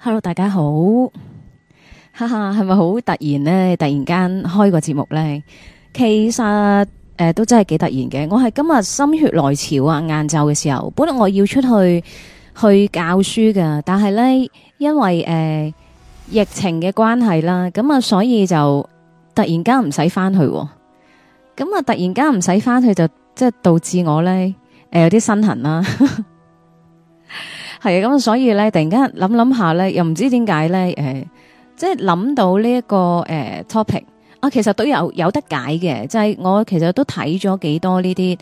Hello，大家好，哈哈，係咪好突然呢？突然間開個節目呢？其實都真係幾突然嘅。我係今日心血來潮啊，晏晝嘅時候，本來我要出去教書噶，但係呢，因為疫情嘅關係啦，咁啊，所以就突然間唔使翻去，咁啊，突然間唔使翻去就即係導致我呢有啲身痕啦。係啊，咁所以咧，突然間諗下咧，又唔知點解咧，即係諗到呢一個topic 啊，其實都有得解嘅，就係我其實都睇咗幾多呢啲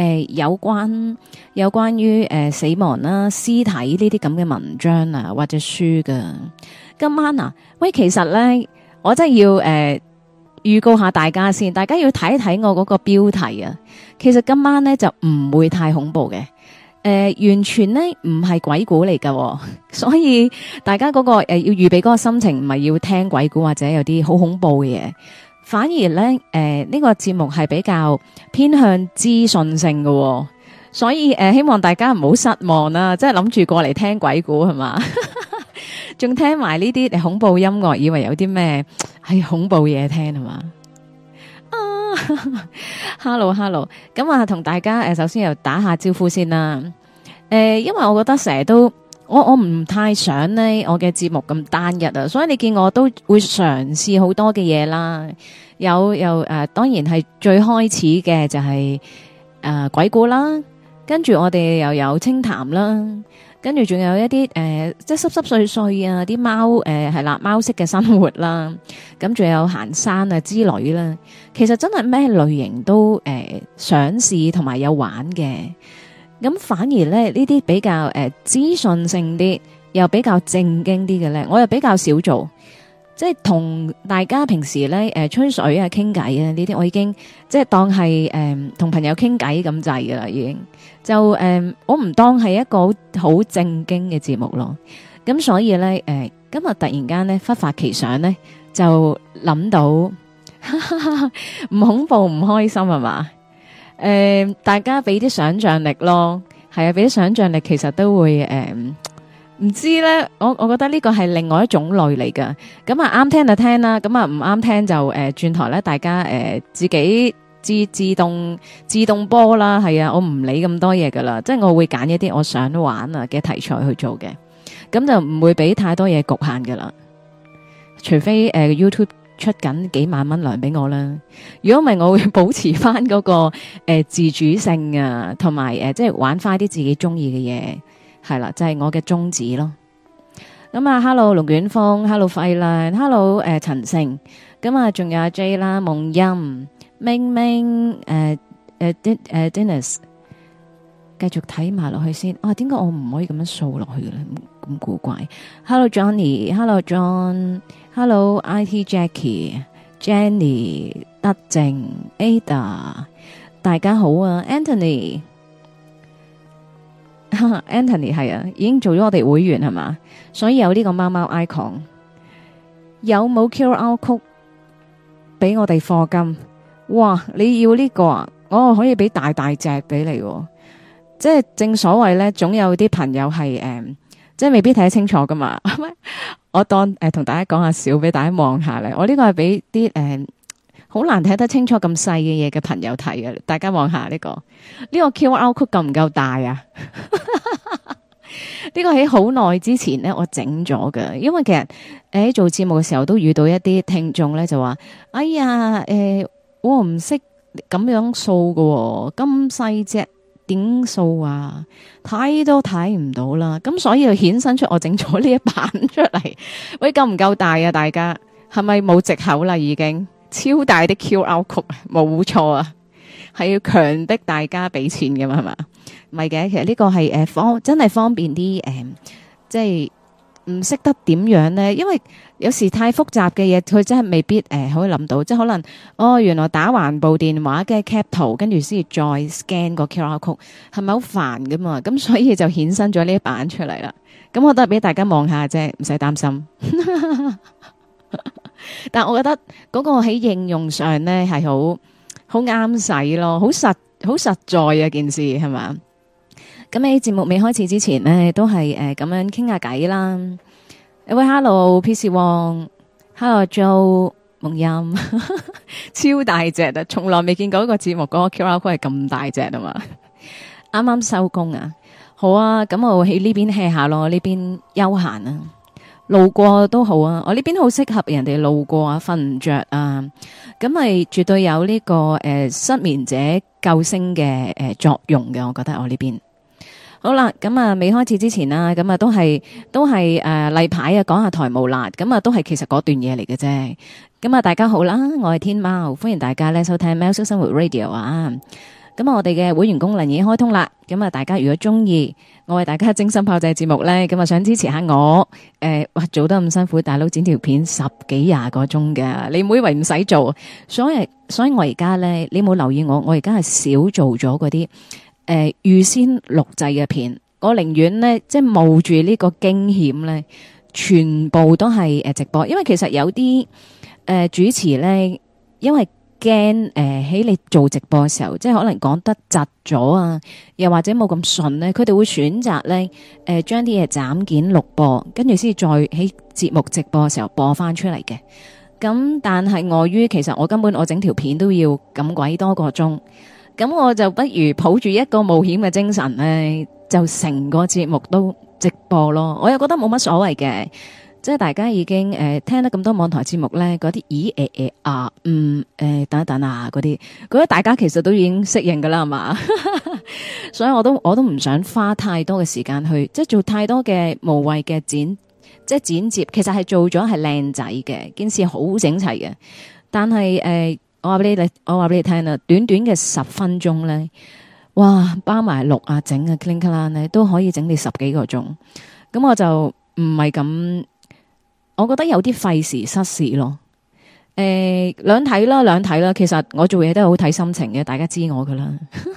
有關於死亡啦、屍體呢啲咁嘅文章啊或者書噶。今晚啊，喂，其實咧，我真係要預告下大家先，大家要睇一睇我嗰個標題啊。其實今晚咧就唔會太恐怖嘅。完全咧唔係鬼故嚟噶，所以大家嗰個要預備嗰個心情，唔係要聽鬼故或者有啲好恐怖嘅嘢，反而咧呢個節目係比較偏向資訊性嘅，所以希望大家唔好失望啦，即係諗住過嚟聽鬼故係嘛，仲聽埋呢啲恐怖音樂，以為有啲咩係恐怖嘢聽係嘛？Hello，咁啊，同大家首先又打下招呼先啦。因為我覺得成日都我唔太想呢我嘅節目咁單一啊，所以你見我都會嘗試好多嘅嘢啦。有當然係最開始嘅就係鬼故啦，跟住我哋又有清談啦。跟住仲有一啲即係濕濕碎碎啊，啲貓係啦，貓式嘅生活啦，咁仲有行山啊之類啦。其實真係咩類型都想試同埋有玩嘅。咁反而咧呢啲比較資訊性啲，又比較正經啲嘅咧，我又比較少做。即係同大家平時咧吹水啊、傾偈啊呢啲，我已經即係當係同朋友傾偈咁滯噶啦，已經就我唔當係一個好正經嘅節目咯。咁所以咧今日突然間咧忽發奇想咧，就諗到唔恐怖唔開心係嘛？大家俾啲想象力咯，係啊，俾啲想象力其實都會唔知咧，我覺得呢個係另外一種類嚟噶，咁啊啱聽就聽啦，咁啊唔啱聽就轉台咧，大家自己自動波啦，係啊，我唔理咁多嘢噶啦，即係我會揀一啲我想玩啊嘅題材去做嘅，咁就唔會俾太多嘢局限噶啦，除非YouTube 出緊幾萬蚊糧俾我啦，如果唔係我會保持翻嗰個自主性啊，同埋即係玩翻啲自己中意嘅嘢。係啦，就係我嘅宗旨咯。咁啊，Hello 龍捲風，Hello 費蘭，Hello 陳勝，咁啊，仲有阿 J 啦，夢音，明明Dennis， 繼續睇埋落去先。啊，點解我唔可以咁樣掃落去嘅咧？咁古怪。Hello Johnny，Hello John，Hello IT Jackie，Jenny， 德正 Ada， 大家好啊 Anthony。Anthony 係啊，已經做咗我哋會員係嘛，所以有呢個貓貓 icon。有冇 QR code 俾我哋課金？哇，你要呢個啊？我可以俾大隻俾你，即係正所謂咧，總有啲朋友係即係未必睇得清楚噶嘛。我當同大家講下笑，俾大家望下咧。我呢個係俾啲好難睇得清楚咁細嘅嘢嘅朋友睇嘅，大家望下呢個 QR code 夠唔夠大啊？呢個喺好耐之前咧，我整咗㗎，因為其實喺做節目嘅時候都遇到一啲聽眾咧，就話：哎呀，我唔識咁樣掃喎，咁細隻點掃啊？睇都睇唔到啦。咁所以就衍生出我整咗呢一版出嚟。喂，夠唔夠大啊？大家係咪冇藉口啦？已經？超大的 QR code 冇錯啊，係要強迫大家俾錢㗎嘛，係嘛？唔係嘅，其實呢個係真係方便啲即係唔識得點樣咧，因為有時太複雜嘅嘢，佢真係未必可以諗到，即係可能原來打橫部電話嘅 cap 圖，跟住先至再 scan 個 QR code，係咪好煩噶嘛？咁所以就衍生咗呢一版出嚟啦。咁我都係俾大家望下啫，唔使擔心。但我覺得嗰個喺應用上咧係好啱使咯，好實在啊件事係嘛？咁喺節目未開始之前咧，都係咁樣傾下偈啦。 喂，Hello，PC 王，Hello，Joe，夢音，超大隻啊！從來未見過一個節目嗰個 QR code 係咁大隻啊嘛！啱啱收工啊，好啊，咁我喺呢邊 hea 下咯，呢邊休閒啊，路過都好啊，我呢邊好適合人哋路過啊，瞓唔着啊，咁咪絕對有呢、個失眠者救星嘅作用嘅，我覺得我呢邊。好啦，咁啊，未開始之前啦，咁啊都係例牌啊，講下台務啦，咁啊都係其實嗰段嘢嚟嘅啫。咁啊，大家好啦，我係天貓，歡迎大家咧收聽《喵式生活 Radio》啊。咁啊，我哋嘅會員功能已經開通啦。咁啊，大家如果中意我為大家精心炮製節目咧，咁啊想支持下我，哇做得咁辛苦，大佬剪條片10幾20個鐘嘅，你唔好以為唔使做，所以我而家咧，你冇留意我而家係少做咗嗰啲。預先錄製嘅片，我寧願呢，即係冒住呢個驚險呢，全部都係直播，因為其實有啲主持呢，因為驚喺你做直播嘅時候，即係可能講得窒咗啊，又或者冇咁順呢，佢哋會選擇呢，將啲嘢斬件錄播，跟住先再喺節目直播嘅時候播翻出嚟嘅。咁但係礙於其實我根本我整條片都要咁鬼多個鐘。咁我就不如抱住一個冒險嘅精神咧，就成個節目都直播咯。我又覺得冇乜所謂嘅，即係大家已經聽得咁多網台節目咧，嗰啲等一等啊嗰啲，覺得大家其實都已經適應噶啦，係嘛？所以我都唔想花太多嘅時間去，即係做太多嘅無謂嘅剪接，其實係做咗係靚仔嘅，件事好整齊嘅，但係我話俾你聽啦，短短嘅10分鐘咧，哇，包埋錄啊、整啊、clean 啦咧，都可以整你10幾個鐘。咁我就唔係咁，我覺得有啲費時失事咯。兩睇啦。其實我做嘢都係好睇心情嘅，大家知我噶啦。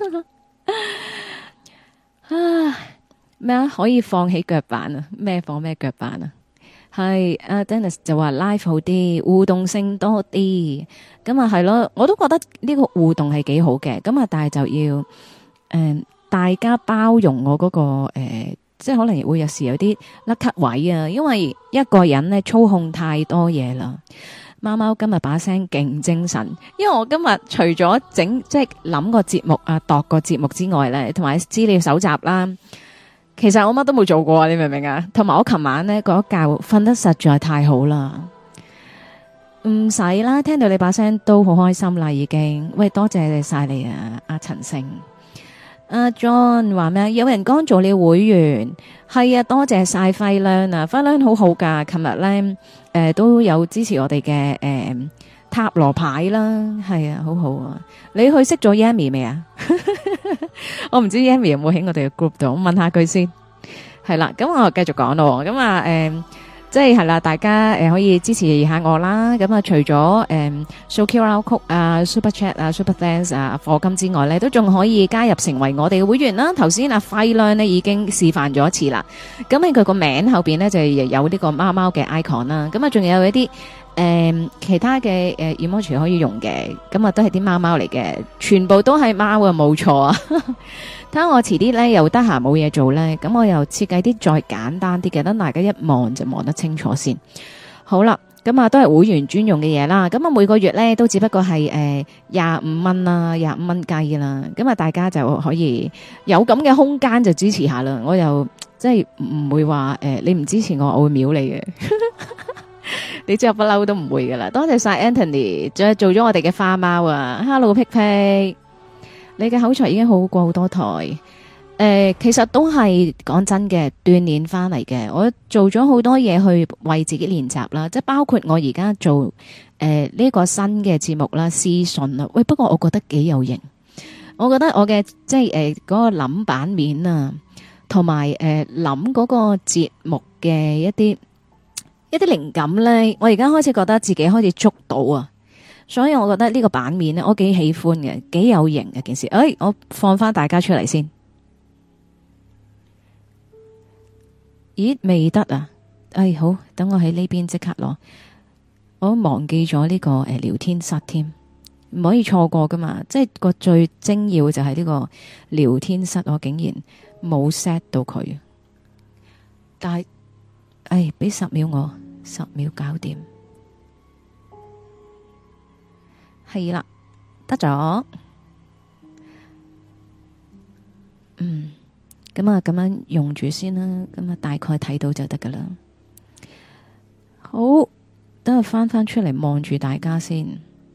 咩啊？可以放起腳板啊？咩放咩腳板啊？係阿 Dennis 就話 live 好啲，互動性多啲，咁啊係咯，我都覺得呢個互動係幾好嘅，咁啊但係就要大家包容我嗰個即係可能會有時有啲甩咳位啊，因為一個人咧操控太多嘢啦。貓貓今日把聲勁精神，因為我今日除咗即係諗個節目啊，度個節目之外咧，同埋資料搜集啦。其實我乜都冇做過啊，你明唔明啊？同埋我琴晚呢嗰覺瞓得實在太好啦，唔使啦，聽到你把聲都好開心啦，已經。喂，多謝晒你啊，阿陳勝，阿 John 話咩？有人剛做了會員，係啊，多謝晒輝亮啊，輝亮好好噶，琴日咧都有支持我哋嘅塔羅牌啦，係啊，好好啊。你去識咗 Yami 未啊？我唔知 Yami 有冇喺我哋嘅 group 度，我問下佢先。係啦，咁我繼續講咯。咁啊，即係啦，大家可以支持下我啦。咁啊，除咗掃 QR Code 啊、Super Chat 啊、Super Thanks 啊、課金之外咧，都仲可以加入成為我哋嘅會員啦。頭先阿輝亮呢已經示範咗一次啦。咁喺佢個名後邊咧就有呢個貓貓嘅 icon 啦。咁啊，仲有一啲其他嘅emoji 可以用嘅。咁啊，都係啲貓貓嚟嘅，全部都係貓啊，冇錯啊。睇下我遲啲咧又得閒冇嘢做咧，咁我又設計啲再簡單啲嘅，等大家一望就望得清楚先。好啦，咁啊都係會員專用嘅嘢啦。咁啊每個月咧都只不過係25蚊啦，25蚊雞啦。咁啊大家就可以有咁嘅空間就支持下啦。我又即係唔會話你唔支持我會秒你嘅。你知我不嬲都唔會噶啦。多謝晒 Anthony，仲做咗我哋嘅花貓啊。Hello 皮皮。你嘅口才已經好過好多台，其實都係講真嘅鍛煉翻嚟嘅。我做咗好多嘢去為自己練習啦，即係包括我而家做呢個新嘅節目啦、私信啦。喂，不過我覺得幾有型，我覺得我嘅即係嗰個諗版面啊，同埋諗嗰個節目嘅一啲靈感咧，我而家開始覺得自己開始捉到啊！所以我覺得呢個版面咧，我幾喜歡嘅，幾有型嘅件事。我放翻大家出嚟先。咦，未得啊？好，等我喺呢邊即刻攞。我忘記咗呢個聊天室添，唔可以錯過噶嘛。即係個最精要就係呢個聊天室，我竟然冇 set 到佢。但係俾10秒我，10秒搞掂。係啦，得咗。咁啊，咁樣用住先啦。咁啊，大概睇到就得噶啦。好，等我翻出嚟望住大家先。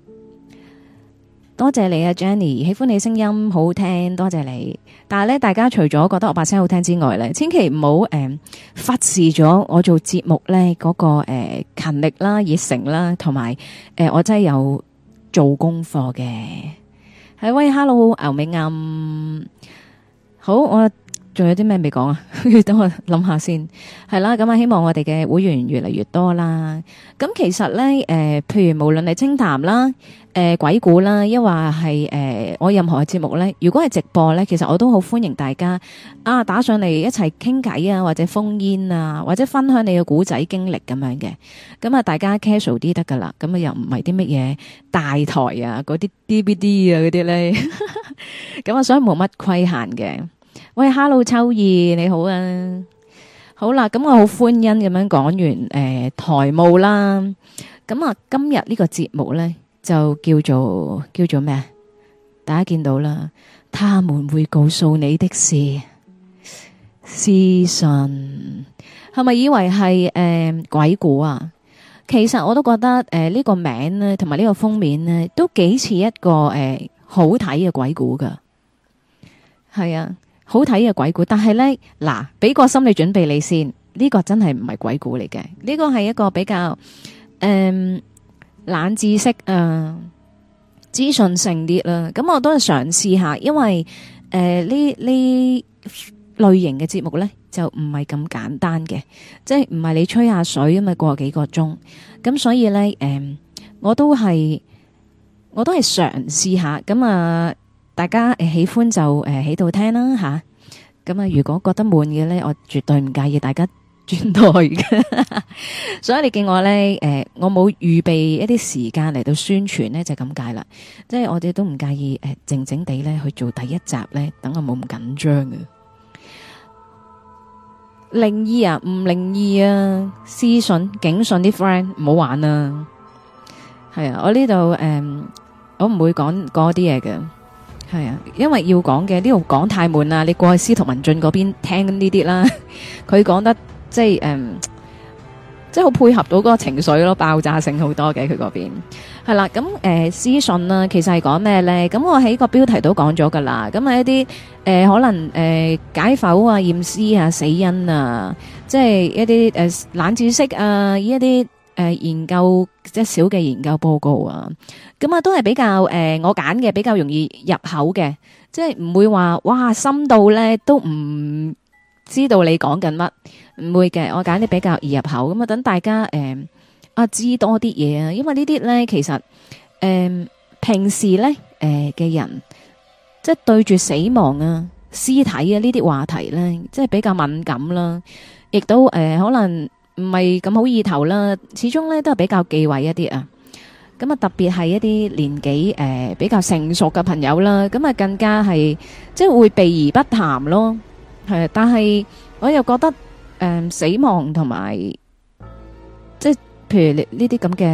多謝你啊 Jenny， 喜歡你聲音好聽，多謝你。但係咧，大家除咗覺得我把聲好聽之外咧，千祈唔好忽視咗我做節目咧嗰個勤力啦、熱誠啦，同埋我真係有做功課嘅。係喂 ，Hello 牛尾暗，好，我仲有啲咩未講啊？等我諗下先。係啦，咁啊，希望我哋嘅會員越嚟越多啦。咁其實咧，譬如無論係清談啦。鬼故啦，抑或係我任何嘅節目咧，如果係直播咧，其實我都好歡迎大家打上嚟一齊傾偈啊，或者烽煙啊，或者分享你嘅古仔經歷咁樣嘅。咁啊，大家 casual 啲得噶啦。咁啊，又唔係啲乜嘢大台啊，嗰啲 DVD 啊嗰啲咧。咁啊，所以冇乜規限嘅。喂 ，Hello 秋意你好啊，好啦，咁我好歡欣咁樣講完台務啦。咁啊，今日呢個節目咧。就叫做咩？大家見到啦，他們會告訴你的事，屍訊係咪以為係鬼故啊？其實我都覺得呢個名咧，同埋呢個封面咧，都幾似一個好睇嘅鬼故噶。係啊，好睇嘅鬼故，但係咧嗱，俾個心理準備你先，呢個真係唔係鬼故嚟嘅，呢個係一個比較冷知識啊，資訊性啲啦，咁我都係嘗試下，因為呢類型嘅節目呢，就唔係咁簡單嘅，即係唔係你吹下水咁啊過幾個鐘，咁所以呢，我都係嘗試下，咁啊大家喜歡就喺度聽啦吓，咁啊如果覺得悶嘅呢，我絕對唔介意大家轉台嘅，所以你見我咧，我冇預備一啲時間嚟到宣傳呢，就咁解啦。即係我哋都唔介意靜靜地咧去做第一集咧，等我冇咁緊張嘅。靈異啊，唔靈異啊，屍訊警訊啲 friend 唔好玩啊。係啊，我呢度我唔會講嗰啲嘢嘅。係啊，因為要講嘅呢度講太悶啦，你過去司徒文進嗰邊聽呢啲啦，佢講得。即係即係好配合到嗰個情緒咯，爆炸性好多嘅佢嗰邊係啦。咁屍訊啦，其實係講咩咧？咁我喺個標題都講咗噶啦。咁係一啲可能解剖啊、驗屍啊、死因啊，即係一啲冷知識啊，一啲研究即係小嘅研究報告啊。咁啊都係比較我揀嘅比較容易入口嘅，即係唔會話哇深度咧都唔知道你講緊乜。唔會嘅，我揀啲比較易入口咁啊，等大家知多啲嘢啊，因為呢啲咧其實平時咧嘅人即係對住死亡啊、屍體啊呢啲話題咧，即係比較敏感啦，亦都可能唔係咁好意頭啦，始終咧都係比較忌諱一啲啊。咁啊，特別係一啲年紀比較成熟嘅朋友啦，咁啊更加係即係會避而不談咯。係，但係我又覺得。死亡同埋即係譬如呢啲咁嘅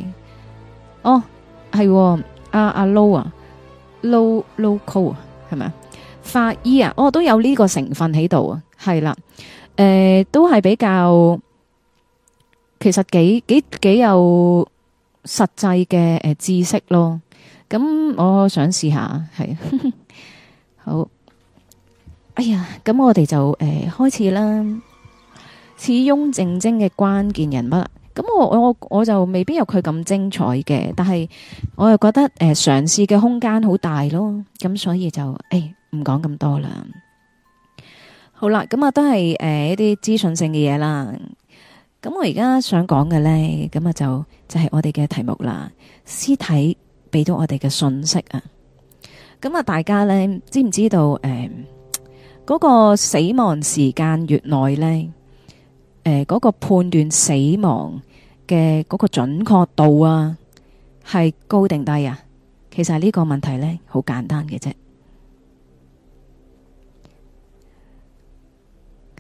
係阿 Low 啊 Low 啊係咪啊法醫啊都有呢個成分喺度啊，係啦，都係比較其實幾有實際嘅知識咯。咁我想試下係好，哎呀，咁我哋就開始啦。始翁靜晶嘅關鍵人物，咁我就未必有佢咁精彩嘅，但係我又覺得嘗試嘅空間好大咯，咁所以就唔講咁多啦。好啦，咁啊都係一啲資訊性嘅嘢啦。咁我而家想講嘅呢，咁啊就係我哋嘅題目啦。屍體俾到我哋嘅信息啊，咁啊大家呢，知唔知道嗰個死亡時間越耐呢？嗰個判斷死亡嘅嗰個準確度啊，係高定低啊？其實呢個問題呢，好簡單嘅啫。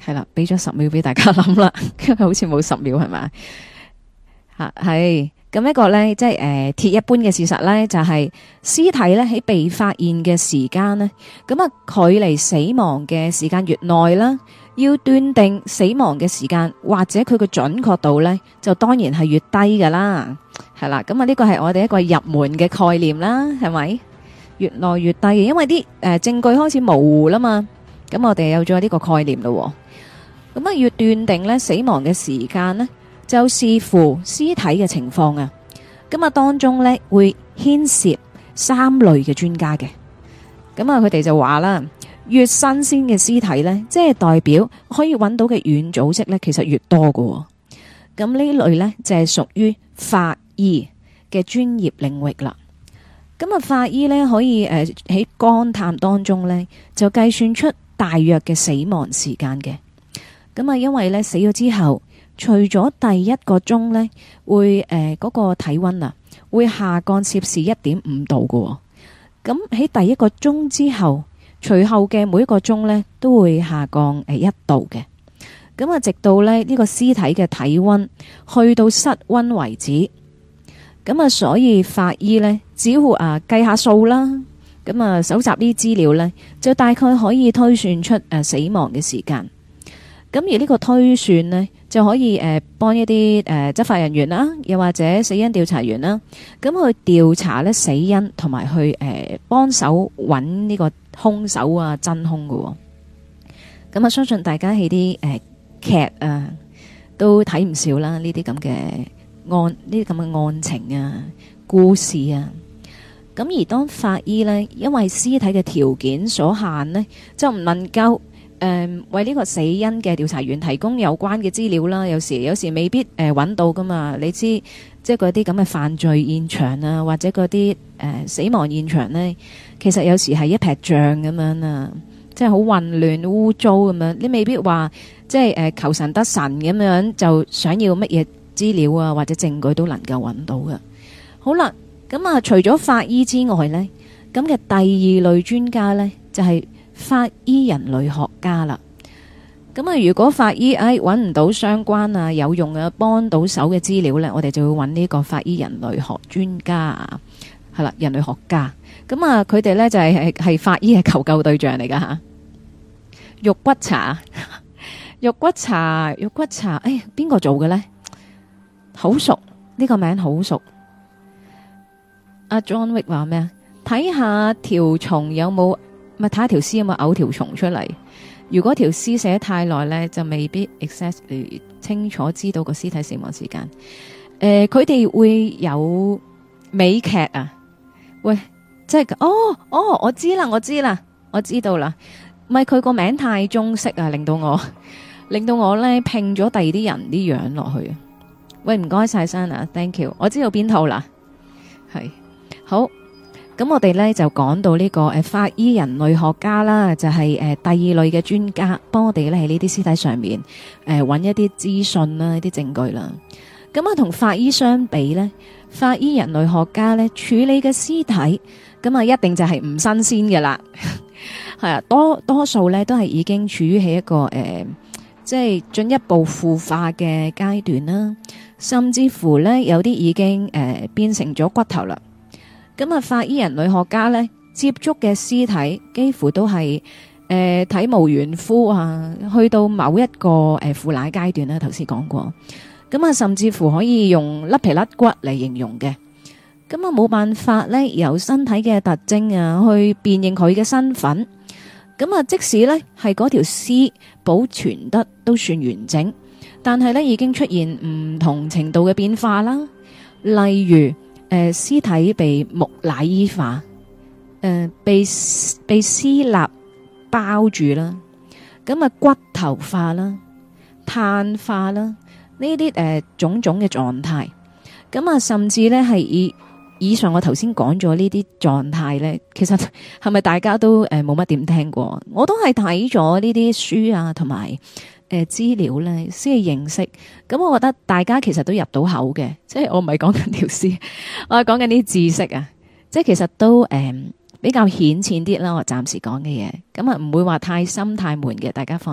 係啦，俾咗10秒俾大家諗啦，因為好似冇10秒係咪？係咁一個咧，即係鐵一般嘅事實咧，就係屍體咧喺被發現嘅時間咧，咁啊距離死亡嘅時間越耐啦，要斷定死亡嘅時間或者佢嘅準確度咧，就當然係越低噶啦，係啦。咁啊呢個係我哋一個入門嘅概念啦，係咪？越耐越低，因為啲證據開始模糊啦嘛，咁我哋有咗呢個概念咯。咁啊要斷定咧死亡嘅時間咧，就視乎屍體嘅情況啊，咁啊當中咧會牽涉3類嘅專家嘅，咁啊佢哋就話啦，越新鮮嘅屍體咧，即係代表可以揾到嘅軟組織咧，其實越多㗎。咁呢類咧就係屬於法醫嘅專業領域啦。咁啊法醫咧可以喺肝探當中咧就計算出大約嘅死亡時間嘅。咁啊因為咧死咗之後，除咗第1個鐘呢，會嗰個體溫啊，會下降攝氏1.5度嘅。咁喺第1個鐘之後，隨後嘅每一個鐘呢，都會下降1度嘅。咁啊，直到呢個屍體嘅體溫去到室溫為止。咁啊，所以法醫呢，只要計下數啦，咁啊搜集呢啲資料呢，就大概可以推算出死亡嘅時間。咁而呢個推算呢，就可以幫一啲執法人員啦，又或者死因調查員啦，咁去調查咧死因，同埋去幫手揾呢個兇手啊真兇㗎。咁啊，相信大家喺啲劇啊都睇唔少啦，呢啲咁嘅案，呢啲咁嘅案情啊、故事啊。咁而當法醫呢，因為屍體嘅條件所限呢，就唔能夠為呢個死因嘅調查員提供有關嘅資料啦，有時未必揾到噶嘛。你知即係嗰啲咁嘅犯罪現場啊，或者嗰啲死亡現場呢，其實有時係一劈像咁樣啊，即係好混亂污糟咁樣。你未必話即係求神得神咁樣，就想要乜嘢資料啊或者證據都能夠揾到嘅。好啦，咁啊除咗法醫之外呢，咁嘅第2類專家呢，就係法醫人類學家啦。咁啊如果法醫揾唔到相關啊有用嘅幫到手嘅資料呢，我哋就會揾呢個法醫人類學專家，係啦，人類學家。咁啊佢哋呢就係法醫嘅求救對象嚟噶吓。肉骨茶肉骨茶，邊個做嘅呢？好熟，呢個名好熟。阿 John Wick 話咩啊？睇下條蟲有冇，咪睇下條屍有冇嘔條蟲出嚟。如果條屍寫太耐呢，就未必 exactly 清楚知道個屍體死亡時間。佢哋會有美劇啊？喂，即係我知啦，我知道啦。唔係佢個名太中式啊，令到我呢拼咗第二啲人啲樣落去。喂，唔該晒Sana，thank you。我知道邊套啦，係好。咁我哋呢就講到呢個法醫人類學家啦，就係第2類嘅專家，幫我哋呢喺呢啲屍體上面揾一啲資訊啦、一啲證據啦。咁啊，同法醫相比呢，法醫人類學家呢處理嘅屍體，咁啊一定就係唔新鮮嘅啦。係啊，多數呢都係已經處於喺一個即係進一步腐化嘅階段啦，甚至乎呢有啲已經變成咗骨頭啦。咁啊，法醫人類學家呢接觸嘅屍體幾乎都係體無完膚啊，去到某一個腐爛階段啦。頭先講過，咁啊，甚至乎可以用甩皮甩骨嚟形容嘅。咁啊，冇辦法呢由身體嘅特徵啊去辨認佢嘅身份。咁啊，即使呢係嗰條屍保存得都算完整，但係呢已經出現唔同程度嘅變化啦，例如。屍體被木乃伊化，被屍蠟包住啦，咁啊骨頭化啦、碳化啦，呢啲種種嘅狀態，咁啊甚至呢係以上我頭先講咗呢啲狀態呢，其實係咪大家都冇乜點聽過？我都係睇咗呢啲書啊，同埋。資料呢先係認識，咁我覺得大家其實都入到口嘅，即係我唔係講緊條屍，我係講緊啲知識啊，即係其實都比較顯淺啲啦。我暫時講嘅嘢，咁啊唔會話太深太悶嘅，大家放心。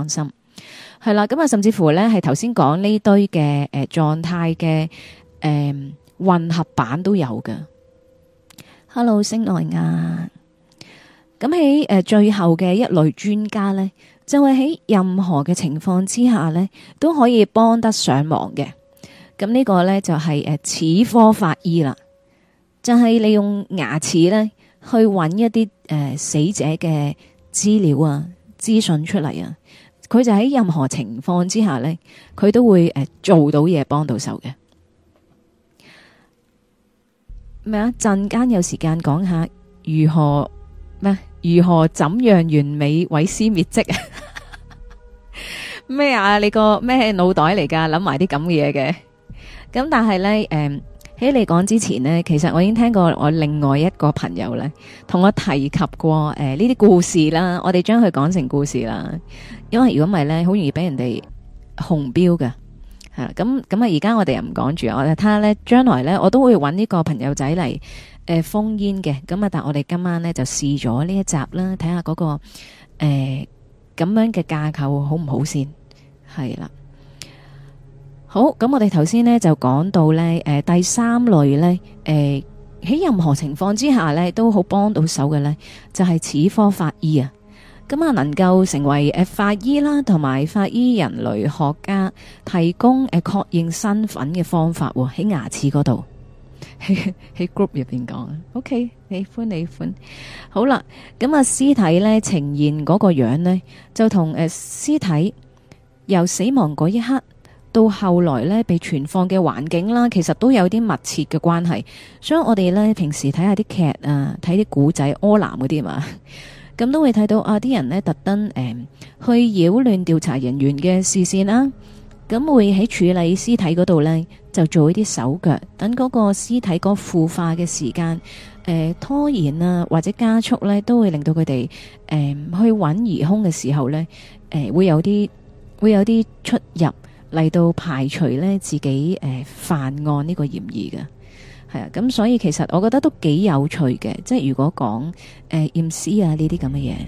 係啦，咁啊，甚至乎咧係頭先講呢堆嘅狀態嘅混合版都有嘅。Hello， 星內亞。咁喺最後嘅一類專家咧，就係喺任何嘅情況之下咧，都可以幫得上忙嘅。咁呢個咧就係齒科法醫啦，就係利用牙齒咧去揾一啲死者嘅資料啊、資訊出嚟啊。佢就喺任何情況之下咧，佢都會做到嘢，幫到手嘅。咩啊？陣間有時間講下如何咩？如何怎樣完美毀屍滅跡啊？咩啊？你個咩腦袋嚟噶？諗埋啲咁嘅嘢嘅。咁但係咧，喺你講之前呢，其實我已經聽過我另外一個朋友咧，同我提及過呢啲故事啦。我哋將佢講成故事啦，因為如果唔係咧，好容易俾人哋紅標嘅。係啦，咁啊，而家我哋又唔講住，我哋睇下咧，將來咧，我都會揾呢個朋友仔嚟封煙嘅。咁啊，但係我哋今晚咧就試咗呢一集啦，睇下嗰個咁樣嘅架構好唔好先。係啦，好，咁我哋頭先咧就講到咧，第三類咧，喺任何情況之下咧都好幫到手嘅咧，就係齒科法醫啊。咁啊，能夠成為法醫啦，同埋法醫人類學家提供確認身份嘅方法喎，喺牙齒嗰度，喺 group 入邊講。OK， 喜歡。好啦，咁啊，屍體咧呈現嗰個樣呢，就同屍體由死亡嗰一刻到後來咧被存放嘅環境啦，其實都有啲密切嘅關係。所以我哋咧平時睇下啲劇啊，睇啲古仔柯南嗰啲嘛。咁都會睇到啊！啲人呢特登去擾亂調查人員嘅視線啦，咁會喺處理屍體嗰度呢，就做一啲手腳，等嗰個屍體個腐化嘅時間拖延啊，或者加速呢，都會令到佢哋去揾疑兇嘅時候呢，會有啲出入嚟到排除呢自己犯案呢個嫌疑嘅。係啊，咁所以其實我覺得都幾有趣嘅，即係如果講驗屍啊呢啲咁嘅嘢，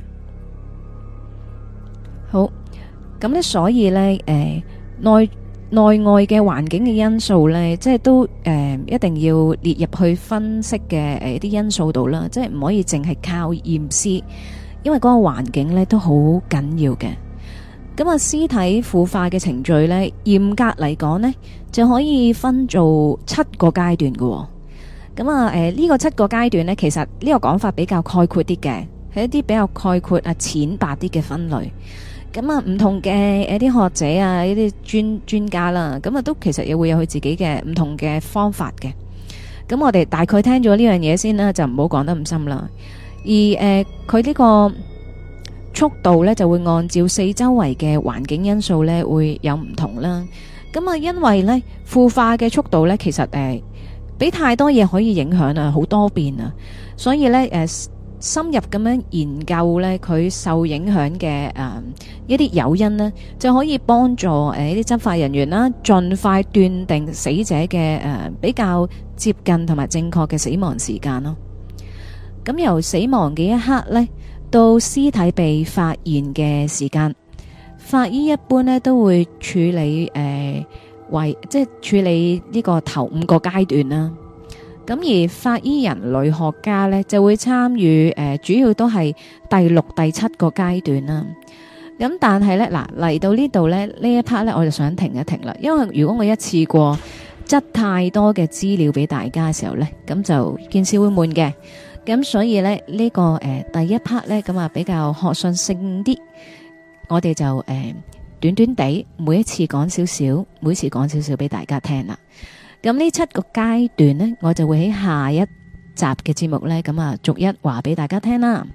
好，咁呢所以呢內外嘅環境嘅因素呢，即係都一定要列入去分析嘅啲因素度啦，即係唔可以淨係靠驗屍，因為嗰個環境呢都好緊要嘅。咁啊，屍體腐化嘅程序呢，嚴格嚟講呢，就可以分做7個階段嘅。咁啊，呢個7個階段呢，其實呢個講法比較概括啲嘅，係一啲比較概括啊淺白啲嘅分類。咁啊，唔同嘅啲學者啊，呢啲專家啦，咁啊都其實亦會有佢自己嘅唔同嘅方法嘅。咁我哋大概聽咗呢樣嘢先啦，就唔好講得咁深啦。而佢呢個速度呢，就會按照四周圍嘅環境因素呢，會有唔同啦。咁啊，因為呢腐化嘅速度呢，其實俾太多嘢可以影響啊，好多變啊，所以呢，深入咁樣研究呢，佢受影響嘅一啲誘因呢，就可以幫助呢啲執法人員啦，盡快斷定死者嘅比較接近同埋正確嘅死亡時間咯。咁由死亡嘅一刻呢，到屍體被發現嘅時間，法醫一般呢都會處理即係處理呢個頭5個階段啦。咁而法醫人類學家呢，就會參與主要都係第6、第7個階段啦。咁但係呢，嗱嚟到呢度呢，呢一 part 呢，我就想停一停啦，因為如果我一次過執太多嘅資料俾大家嘅時候呢，咁就件事會悶嘅。咁所以呢，呢個第一 part 呢，咁啊比較學術性啲，我哋就短短地每一次講少少，每次講少少俾大家聽啦。咁呢7個階段呢，我就會喺下一集嘅節目呢，咁啊逐一話俾大家聽啦。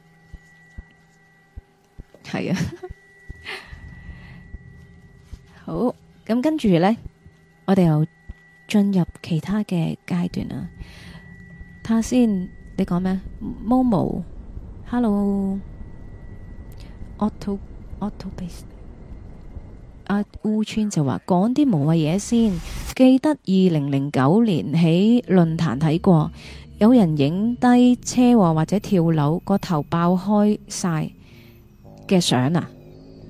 係啊，好，咁跟住呢，我哋又進入其他嘅階段啦。睇下先，你講咩？Momo，Hello，Auto Base。阿烏川就話講啲無謂嘢先，記得2009年喺論壇睇過，有人影低車禍或者跳樓個頭爆開晒嘅相啊！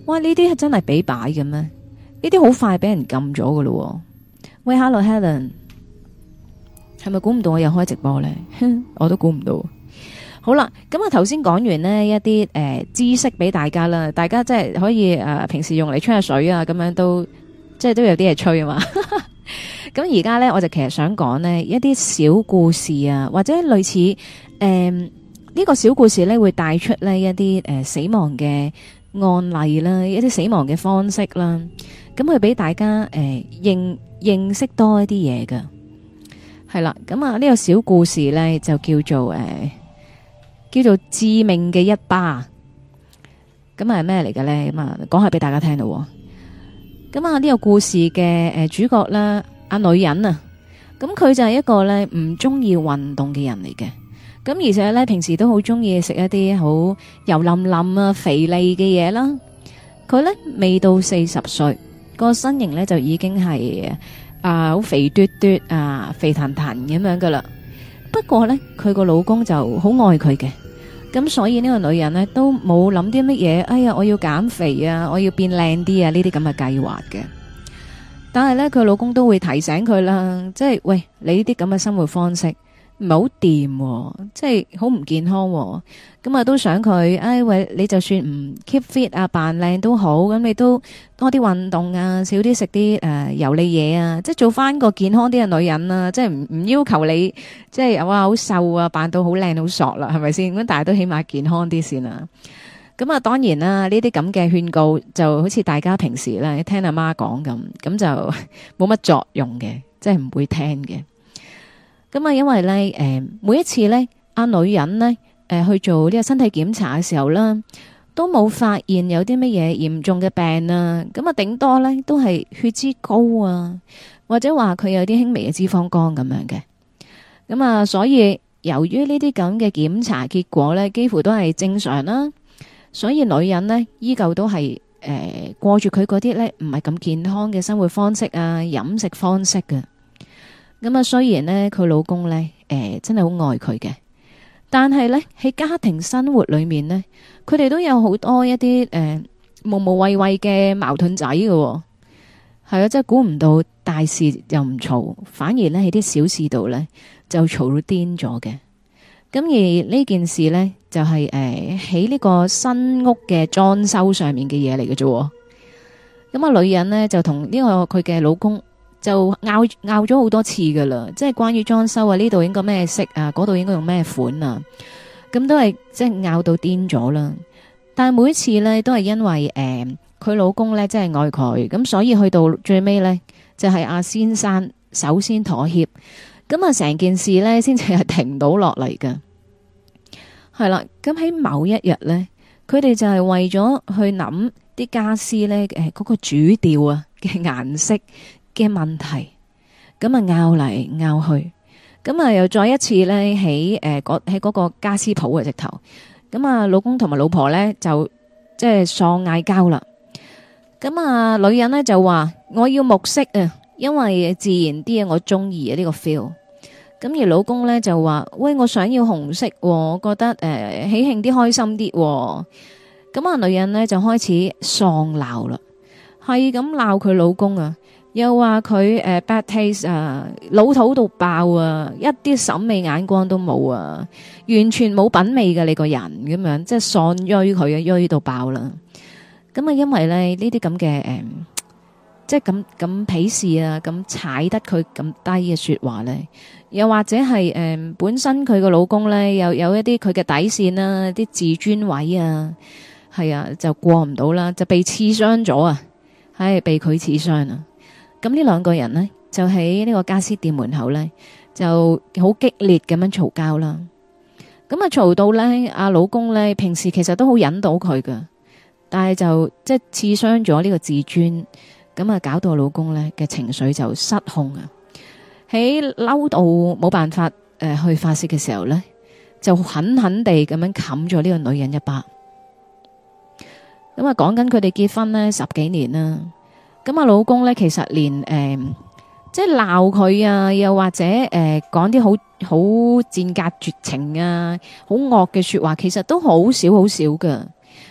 哇！呢啲係真係俾擺嘅咩？呢啲好快俾人撳咗噶咯。喂，Hello Helen，係咪估唔到我又開直播呢？我都估唔到。好啦，咁啊頭先講完呢一啲知識俾大家啦，大家即係可以平時用嚟吹下水啊，咁樣都即係都有啲嘢吹啊嘛。咁而家呢，我就其實想講呢一啲小故事啊，或者類似呢個小故事呢，會帶出呢一啲死亡嘅案例啦，一啲死亡嘅方式啦，咁佢俾大家認識多一啲嘢噶。係啦，咁啊呢個小故事呢，就叫做致命嘅一巴。咁係咩嚟嘅呢？咁啊講下俾大家聽咯。咁啊呢個故事嘅主角啦，阿女人啊，咁佢就係一個呢唔中意運動嘅人嚟嘅。咁而且呢，平時都好中意食一啲好油淋淋啊肥膩嘅嘢啦。佢呢未到40歲，個身形呢就已經係好肥嘟嘟啊，肥騰騰咁樣噶啦。不過呢，佢個老公就好愛佢嘅，咁所以呢個女人呢都冇諗啲乜嘢。哎呀，我要減肥啊，我要變靚啲啊，呢啲咁嘅計劃嘅。但係呢，佢老公都會提醒佢啦，即係喂，你呢啲咁嘅生活方式唔係好掂，即係好唔健康。咁啊都想佢，哎喂，你就算唔 keep fit 啊，扮靚都好，咁你都多啲運動啊，少啲食啲油膩嘢啊，即係做翻個健康啲嘅女人啊，即係唔要求你即係哇好瘦啊，扮到好靚好索啦，係咪先？咁但係都起碼健康啲先啦。咁啊，當然啦，呢啲咁嘅勸告就好似大家平時咧聽阿媽講咁就冇乜作用嘅，即係唔會聽嘅。咁啊，因為咧，每一次咧，阿女人咧，去做呢個身體檢查嘅時候啦，都冇發現有啲乜嘢嚴重嘅病啊。咁啊，頂多咧都係血脂高啊，或者話佢有啲輕微嘅脂肪肝咁樣嘅。咁啊，所以由於呢啲咁嘅檢查結果咧，幾乎都係正常啦，所以女人呢，依舊都係過住佢嗰啲咧唔係咁健康嘅生活方式啊，飲食方式嘅。咁啊，雖然呢，佢老公呢，真係好愛佢嘅，但係呢，喺家庭生活裏面呢，佢哋都有好多一啲無無謂謂嘅矛盾仔嘅。係啊，真係估唔到大事又唔嘈，反而呢，喺啲小事度呢，就嘈到癲咗嘅。咁而呢件事呢，就係喺呢個新屋嘅裝修上面嘅嘢嚟嘅啫。咁啊，女人呢，就同呢個佢嘅老公就拗咗好多次噶啦，即係關於裝修啊，呢度應該咩色啊，嗰度應該用咩款啊，咁都係即係拗到癲咗啦。但係每一次呢，都係因為佢老公呢，真係愛佢，咁所以去到最尾呢，就係阿先生首先妥協，咁啊成件事呢，先至係停到落嚟噶。係啦，咁喺某一日呢，佢哋就係為咗去諗啲家私呢，嗰個主調啊嘅顏色嘅問題，咁啊拗嚟拗去，咁啊又再一次呢，喺嗰個家私鋪嘅直頭，咁啊老公同埋老婆呢，就即係喪嗌交啦。咁啊女人呢，就話我要木色啊，因為自然啲啊，我中意啊呢個 feel。咁而老公呢，就話喂，我想要紅色，我覺得喜慶啲開心啲。咁啊女人呢，就開始喪鬧啦，係咁鬧佢老公啊，又話佢bad taste 啊，老土到爆啊，一啲審美眼光都冇啊，完全冇品味嘅你個人咁樣，即係喪錐佢啊，錐到爆啦。咁啊因為咧呢啲咁嘅即係咁鄙視啊，咁踩得佢咁低嘅說話咧，又或者係本身佢個老公咧又有一啲佢嘅底線啦，啲自尊位啊，係啊就過唔到啦，就被刺傷咗啊，係被佢刺傷啊。咁呢兩個人呢，就喺呢個家私店門口呢，就好激烈咁樣嘈交啦。咁啊嘈到呢，阿老公呢，平時其實都好忍到佢噶，但係就即係刺傷咗呢個自尊，咁啊搞到老公呢嘅情緒就失控啊。喺嬲到冇辦法去發洩嘅時候呢，就狠狠地咁樣冚咗呢個女人一巴。咁啊講緊佢哋結婚呢10幾年啦。咁啊，老公咧，其實連即係鬧佢啊，又或者講啲好賤格絕情啊，好惡嘅說話，其實都好少好少噶。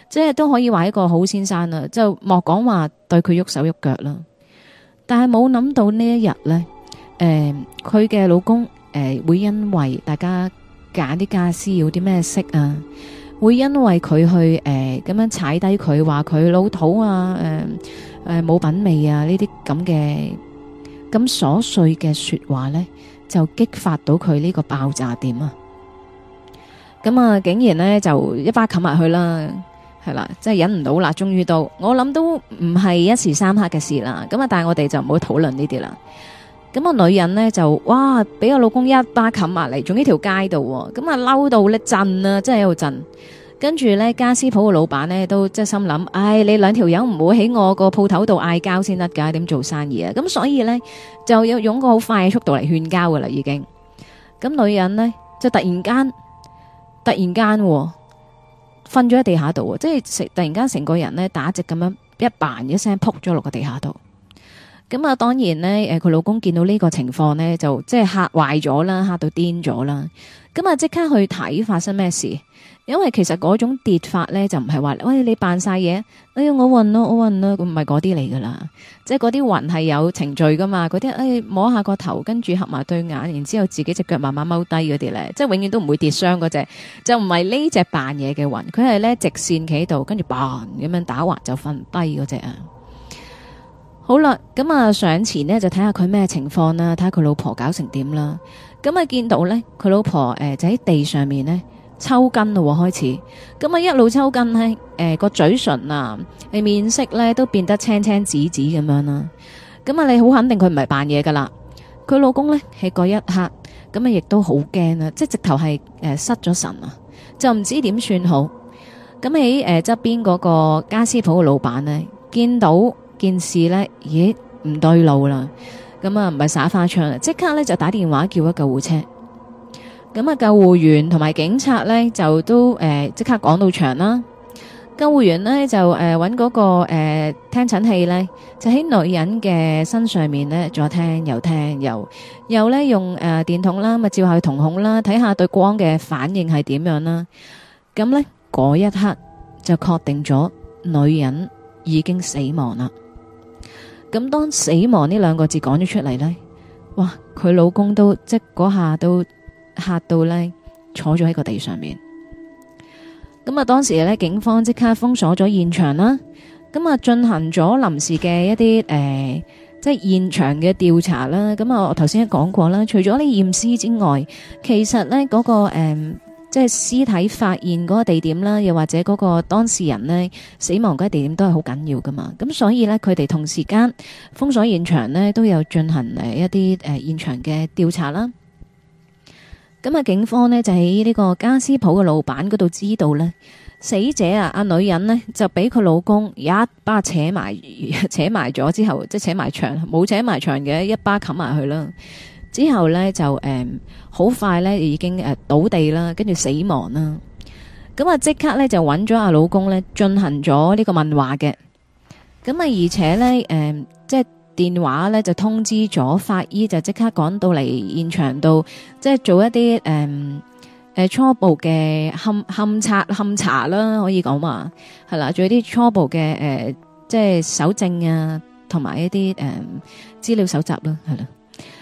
即係都可以話一個好先生啦，就莫講話對佢喐手喐腳啦。但係冇諗到呢一日呢，佢嘅老公會因為大家揀啲家私要啲咩色啊，會因為佢去咁樣踩低佢，話佢老土啊，冇品味啊，呢啲咁嘅咁瑣碎嘅說話呢，就激發到佢呢個爆炸點啊！咁啊，竟然呢，就一巴冚埋去啦，係啦，真係忍唔到啦，終於到，我諗都唔係一時三刻嘅事啦。咁啊，但係我哋就唔好討論呢啲啦。咁個女人呢，就哇，俾個老公一巴冚埋嚟，仲呢條街度，咁啊嬲到咧震啊，真係喺度震。跟住呢，家私鋪嘅老闆呢，都即係心諗，唉，你兩條友唔好喺我個鋪頭度嗌交先得噶，點做生意啊？咁所以呢，就要用個好快嘅速度嚟勸交噶啦，已經。咁女人呢，就突然間瞓咗喺地下度，即係突然間成個人呢，打直咁樣一扮一聲撲咗落個地下度。咁啊，當然呢，佢老公見到呢個情況呢，就即係嚇壞咗啦，嚇到癲咗啦。咁啊，即刻去睇發生咩事。因為其實嗰種跌法呢，就唔係話，喂，你扮晒嘢，哎呀我暈咯，唔係嗰啲嚟噶啦。即係嗰啲暈係有程序噶嘛，嗰啲摸下個頭，跟住合埋對眼，然之後自己隻腳慢慢踎低嗰啲呢，即係永遠都唔會跌傷嗰隻，就唔係呢隻扮嘢嘅暈，佢係呢直線企喺度，跟住嘭咁樣打橫就瞓低嗰隻啊。好啦，咁啊上前呢，就睇下佢咩情況啦，睇下佢老婆搞成點啦。咁啊見到呢，佢老婆就喺地上面呢。抽筋咯，開始咁啊！一路抽筋呢，個嘴唇啊，面色咧都變得青青紫紫咁樣啦。咁啊，你好肯定佢唔係扮嘢噶啦。佢老公咧喺嗰一刻，咁啊亦都好驚啊，即係直頭係失咗神啊，就唔知點算好。咁喺側邊嗰個家私鋪嘅老闆呢，見到件事咧，咦唔對路啦，咁啊唔係耍花槍啦，即刻咧就打電話叫咗救護車。咁啊，救護員同埋警察呢，就都即刻趕到場啦。救護員呢，就揾嗰個聽診器呢，就喺女人嘅身上面呢，左聽右聽，又呢用電筒啦，咪照下佢瞳孔啦，睇下對光嘅反應係點樣啦。咁呢，嗰一刻就確定咗女人已經死亡啦。咁當死亡呢兩個字講咗出嚟呢，哇！佢老公都即嗰下都嚇到呢，坐咗喺個地上面。咁啊，當時呢，警方即刻封鎖咗現場啦。咁啊，進行咗臨時嘅一啲即係現場嘅調查啦。咁啊，我頭先講過啦，除咗呢驗屍之外，其實呢嗰個即係屍體發現嗰個地點啦，又或者嗰個當事人呢死亡嗰個地點都係好緊要噶嘛。咁所以呢，佢哋同時間封鎖現場呢，都有進行一啲現場嘅調查啦。咁啊，警方呢就喺呢個家私鋪嘅老闆嗰度知道呢，死者啊，阿女人呢就俾佢老公一巴扯埋咗之後，即係扯埋牆，冇扯埋牆嘅，一巴冚埋去啦。之後呢，就好快呢已經倒地啦，跟住死亡啦。咁啊，即刻呢就揾咗阿老公呢進行咗呢個問話嘅。咁啊，而且呢，即係電話呢就通知咗法醫，就即刻趕到嚟現場度，即係做一啲初步嘅勘查啦，可以講話係啦，做一啲初步嘅即係搜證啊，同埋一啲資料搜集啦，係啦。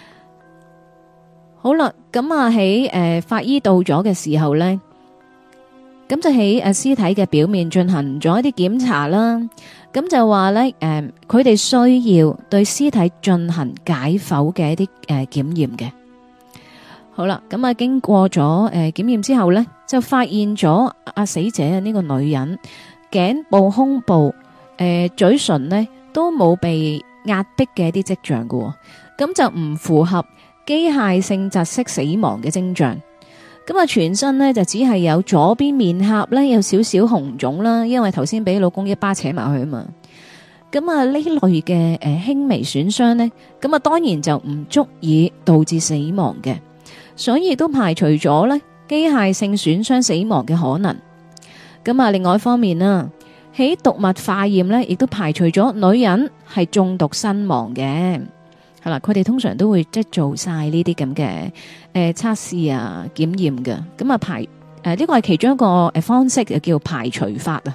好啦，咁啊喺法醫到咗嘅時候呢，咁就喺屍體嘅表面進行咗一啲檢查啦。咁就話呢，佢哋需要對屍體進行解剖嘅一啲檢驗嘅。好啦，咁啊經過咗檢驗之後呢，就發現咗阿死者呢個女人頸部、胸部、嘴唇呢都冇被壓迫嘅一啲跡象嘅，咁就唔符合機械性窒息死亡嘅徵象。咁啊，全身呢就只係有左邊面頰呢有少少紅腫啦，因為頭先俾老公一巴扯埋去啊嘛。咁啊，呢類嘅輕微損傷呢，咁啊當然就唔足以導致死亡嘅。所以都排除咗呢機械性損傷死亡嘅可能。咁啊，另外一方面啦，喺毒物化驗呢，亦都排除咗女人係中毒身亡嘅。係啦，佢哋通常都會即係做晒呢啲咁嘅測試啊、檢驗嘅。咁啊呢個係其中一個方式，就叫排除法啊。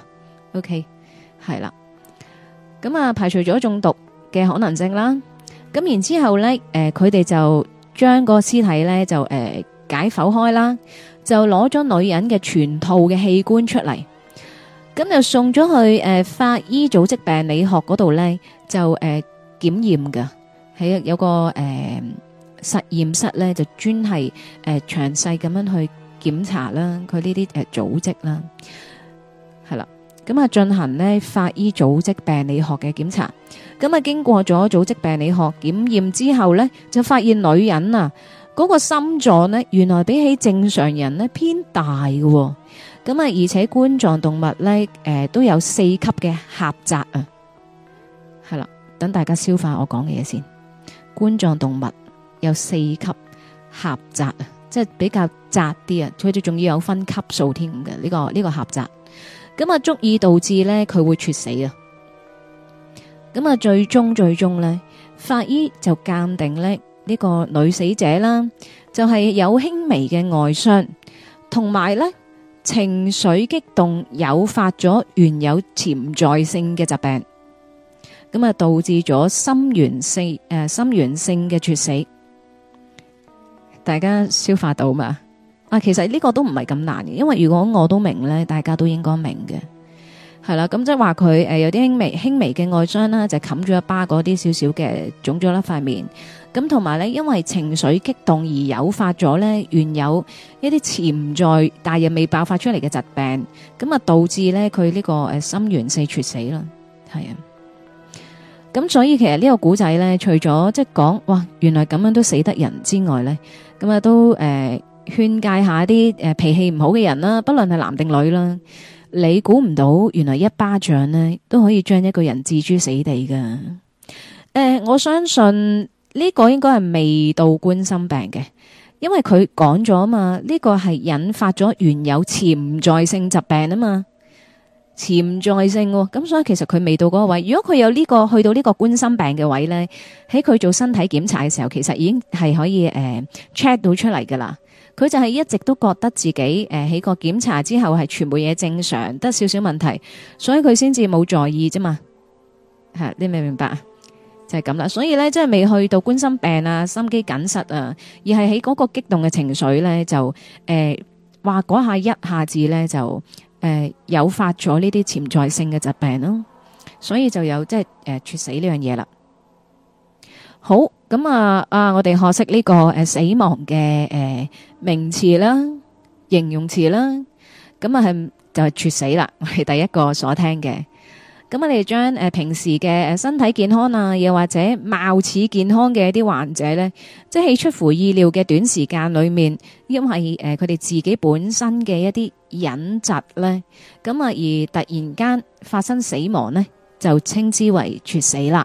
OK， 係啦。咁啊，排除咗中毒嘅可能性啦。咁然之後咧，佢哋就將個屍體咧就解剖開啦，就攞咗女人嘅全套嘅器官出嚟，咁就送咗去法醫組織病理學嗰度咧，就檢驗噶，喺有個實驗室咧，就專係詳細咁樣去檢查啦，佢呢啲組織啦，係啦。咁啊，進行呢法醫組織病理學嘅檢查。咁啊，經過咗組織病理學檢驗之後呢，就發現女人啊嗰個心臟呢，原來比起正常人呢偏大嘅。咁啊，而且冠狀動脈呢，都有4級嘅狹窄啊。係啦，等大家消化我講嘅嘢先。冠狀動脈有4級狹窄啊，即係比較窄啲啊。佢哋仲要有分級數添嘅呢個狹窄。咁啊，足以導致咧佢會猝死啊！咁啊，最終咧，法醫就鑑定咧呢個女死者啦，就係有輕微嘅外傷，同埋咧情緒激動誘發咗原有潛在性嘅疾病，咁啊導致咗心源性嘅猝死。大家消化到嘛？其實呢個都唔係咁難嘅，因為如果我都明咧，大家都應該明嘅，係啦。咁即係話佢有啲輕微嘅外傷啦，就冚咗一巴嗰啲少少嘅腫咗啦塊面。咁同埋咧，因為情緒激動而誘發咗咧原有一啲潛在但係未爆發出嚟嘅疾病，咁啊導致咧佢呢個心源性猝死啦。係啊，咁所以其實呢個古仔咧，除咗即係講哇原來咁樣都死得人之外咧，咁啊都勸誡下啲脾氣唔好嘅人啦，不論係男定女啦，你估唔到原來一巴掌呢都可以將一個人置諸死地噶。我相信呢個應該係未到冠心病嘅，因為佢講咗啊嘛，呢個係引發咗原有潛在性疾病啊嘛，潛在性咁，所以其實佢未到嗰個位。如果佢有呢個去到呢個冠心病嘅位呢，喺佢做身體檢查嘅時候，其實已經係可以check 到出嚟噶啦。佢就係一直都覺得自己喺個檢查之後係全部嘢正常，得少少問題，所以佢先至冇在意啫嘛。係你明唔明白啊？就係咁啦。所以咧，即係未去到冠心病啊、心肌梗塞啊，而係喺嗰個激動嘅情緒咧，就話嗰下一下子咧就誘發咗呢啲潛在性嘅疾病咯。所以就有即係猝死呢樣嘢啦。好，咁我哋學識呢個死亡嘅名詞啦、形容詞啦，咁係就係猝死啦，我係第一個所聽嘅。咁我哋將平時嘅身體健康啊，又或者貌似健康嘅一啲患者咧，即係出乎意料嘅短時間裏面，因為佢哋自己本身嘅一啲隱疾咧，咁而突然間發生死亡咧，就稱之為猝死啦。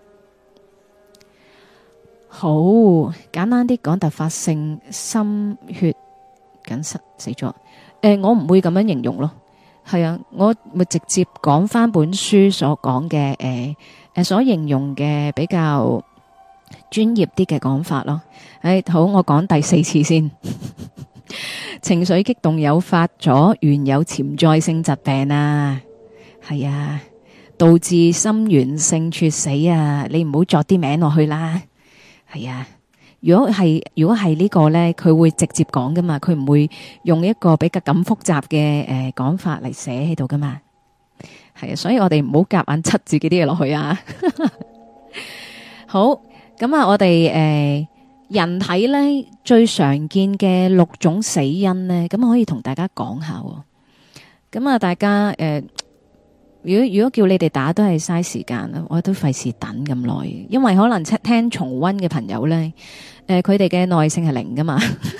好簡單啲講，突發性心血梗塞死咗。我唔會咁樣形容咯，係啊，我會直接講翻本書所講嘅所形容嘅比較專業啲嘅講法咯。好，我講第4次先。情緒激動誘發咗原有潛在性疾病啊，係啊，導致心源性猝死啊，你唔好作啲名落去啦。係啊，如果係呢個咧，佢會直接講噶嘛，佢唔會用一個比較咁複雜嘅講法嚟寫喺度噶嘛。係啊，所以我哋唔好夾硬塞自己啲嘢落去啊。好，咁我哋人體咧最常見嘅6種死因咧，咁可以同大家講下。咁大家如果叫你哋打都係嘥時間啦，我都費事等咁耐，因為可能聽重溫嘅朋友咧，佢哋嘅耐性係0噶嘛，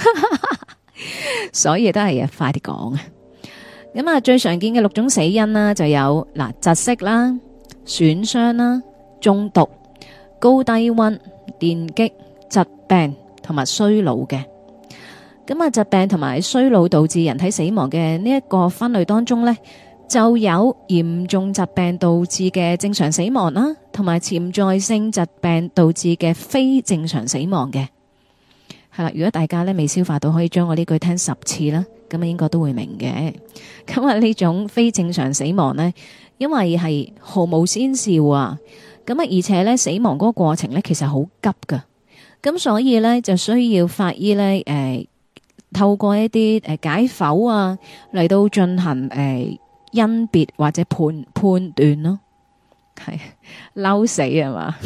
所以都係快啲講啊。咁最常見嘅6種死因啦，就有窒息啦、損傷啦、中毒、高低溫、電擊、疾病同埋衰老嘅。咁疾病同埋衰老導致人體死亡嘅呢一個分類當中咧，就有嚴重疾病導致嘅正常死亡啦，同埋潛在性疾病導致嘅非正常死亡嘅。係啦，如果大家咧未消化到，可以將我呢句聽10次啦， 咁啊應該都會明嘅。咁啊呢種非正常死亡呢，因為係毫無先兆啊，咁啊而且呢，死亡嗰個過程呢，其實好急噶，咁所以呢，就需要法醫呢，透過一啲解剖啊嚟到進行甄別或者判斷咯，係嬲死係嘛？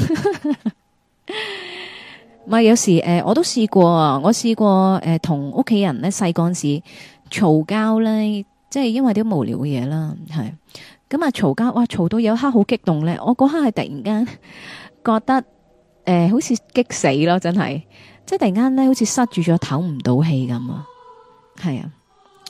咪有時我都試過啊，我試過同屋企人咧細個時嘈交咧，即係因為啲無聊嘅嘢啦，係咁啊嘈交，哇嘈到有一刻好激動咧，我嗰刻係突然間覺得好似激死咯，真係，即係突然間咧好似塞住咗唞唔到氣咁啊，係啊，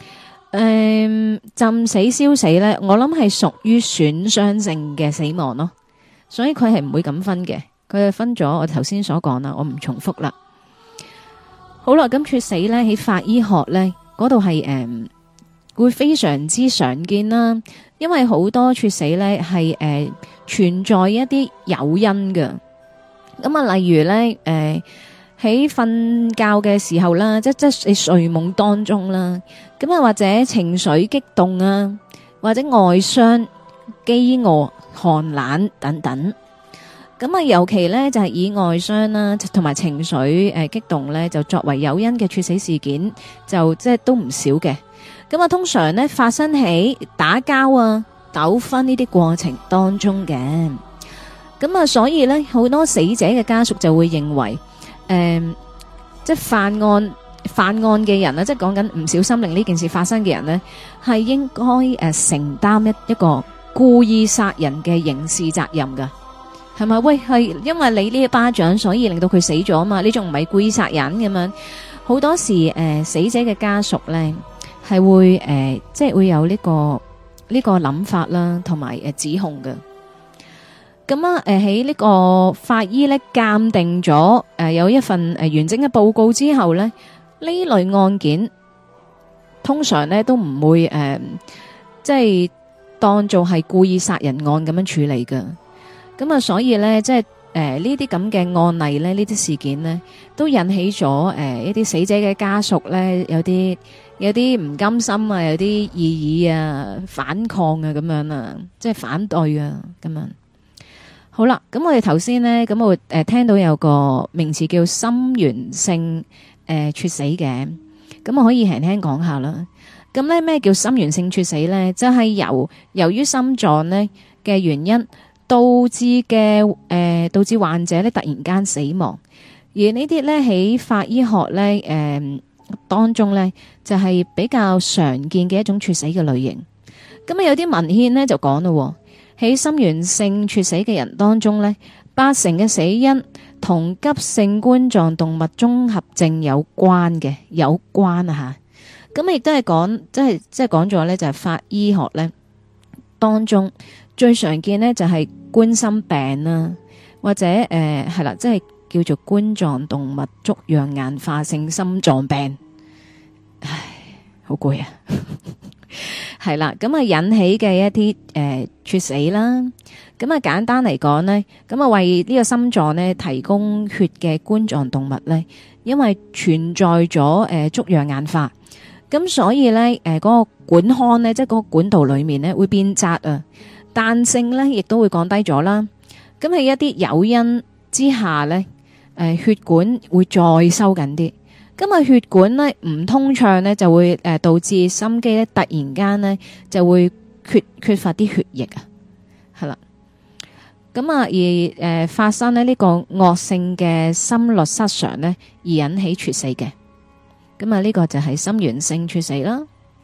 浸死燒死咧，我諗係屬於損傷性嘅死亡咯，所以佢係唔會咁分嘅。佢係分咗我頭先所講啦，我唔重複啦。好啦，咁猝死咧喺法醫學咧嗰度係會非常之常見啦，因為好多猝死咧係存在一啲誘因嘅。咁啊，例如咧喺瞓覺嘅時候啦，即係睡夢當中啦，咁啊或者情緒激動啊，或者外傷、飢餓、寒冷等等。咁啊，尤其咧就係以外傷啦，同埋情緒激動咧，就作為誘因嘅猝死事件，就即係都唔少嘅。咁啊，通常咧發生喺打交啊、糾紛呢啲過程當中嘅。咁啊，所以咧好多死者嘅家屬就會認為，即係犯案嘅人啊，即係講緊唔小心令呢件事發生嘅人咧，係應該承擔一個故意殺人嘅刑事責任噶。係咪？喂，係因為你呢一巴掌，所以令到佢死咗啊嘛？你仲唔係故意殺人咁樣？好多時死者嘅家屬咧係會即係會有呢個諗法啦，同埋指控嘅。咁啊喺呢個法醫咧鑑定咗有一份完整嘅報告之後咧，呢類案件通常咧都唔會即係當做係故意殺人案咁樣處理㗎。咁啊，所以咧，即係呢啲咁嘅案例咧，呢啲事件呢，都引起咗一啲死者嘅家屬咧，有啲唔甘心啊，有啲異議啊，反抗啊，咁樣啊，即係反對啊，咁樣。好啦，咁我哋頭先呢，咁我聽到有個名詞叫心源性猝死嘅，咁我可以輕輕講下啦。咁咧咩叫心源性猝死咧？就係由於心臟呢嘅原因。導致患者咧突然間死亡，而呢啲咧喺法醫學咧當中咧就係比較常見嘅一種猝死嘅類型。咁啊有啲文獻咧就講咯，喺心源性猝死嘅人當中咧，80%嘅死因同急性冠狀動脈綜合症有關啊吓。咁亦都係講即係講咗咧就係法醫學咧當中最常見咧就係冠心病啦，或者係啦，即係叫做冠狀動脈粥樣硬化性心臟病。唉，好攰啊！係啦，咁啊引起嘅一啲猝死啦。咁啊簡單嚟講呢，咁啊為呢個心臟呢提供血嘅冠狀動脈呢，因為存在咗粥樣硬化，咁所以呢嗰個管腔呢，即係嗰個管道裏面呢會變窄啊。彈性咧，亦都會降低咗啦。咁喺一啲誘因之下咧，血管會再收緊啲。咁啊，血管咧唔通暢咧，就會導致心肌咧突然間咧就會缺乏啲血液啊，係啦。咁啊，而發生咧呢個惡性嘅心律失常咧，而引起猝死嘅。咁啊，呢個就係心源性猝死啦。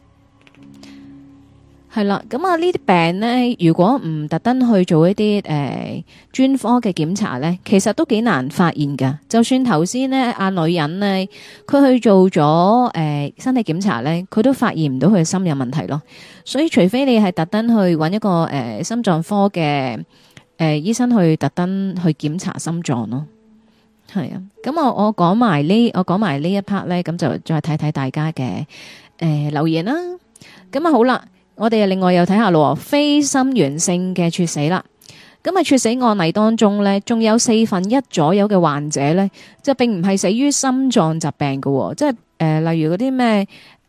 係啦，咁啊呢啲病呢，如果唔特登去做一啲專科嘅檢查呢，其實都幾難發現噶。就算頭先呢阿女人呢，佢去做咗身體檢查呢，佢都發現唔到佢嘅心有問題咯。所以除非你係特登去揾一個心臟科嘅醫生去特登去檢查心臟咯。係啊，咁我講埋呢一 part 呢，咁就再睇睇大家嘅留言啦。咁啊好啦。我哋另外又睇下咯，非心源性嘅猝死啦。咁啊，猝死案例當中呢，仲有1/4左右嘅患者呢，就並唔係死於心臟疾病嘅，即係例如嗰啲咩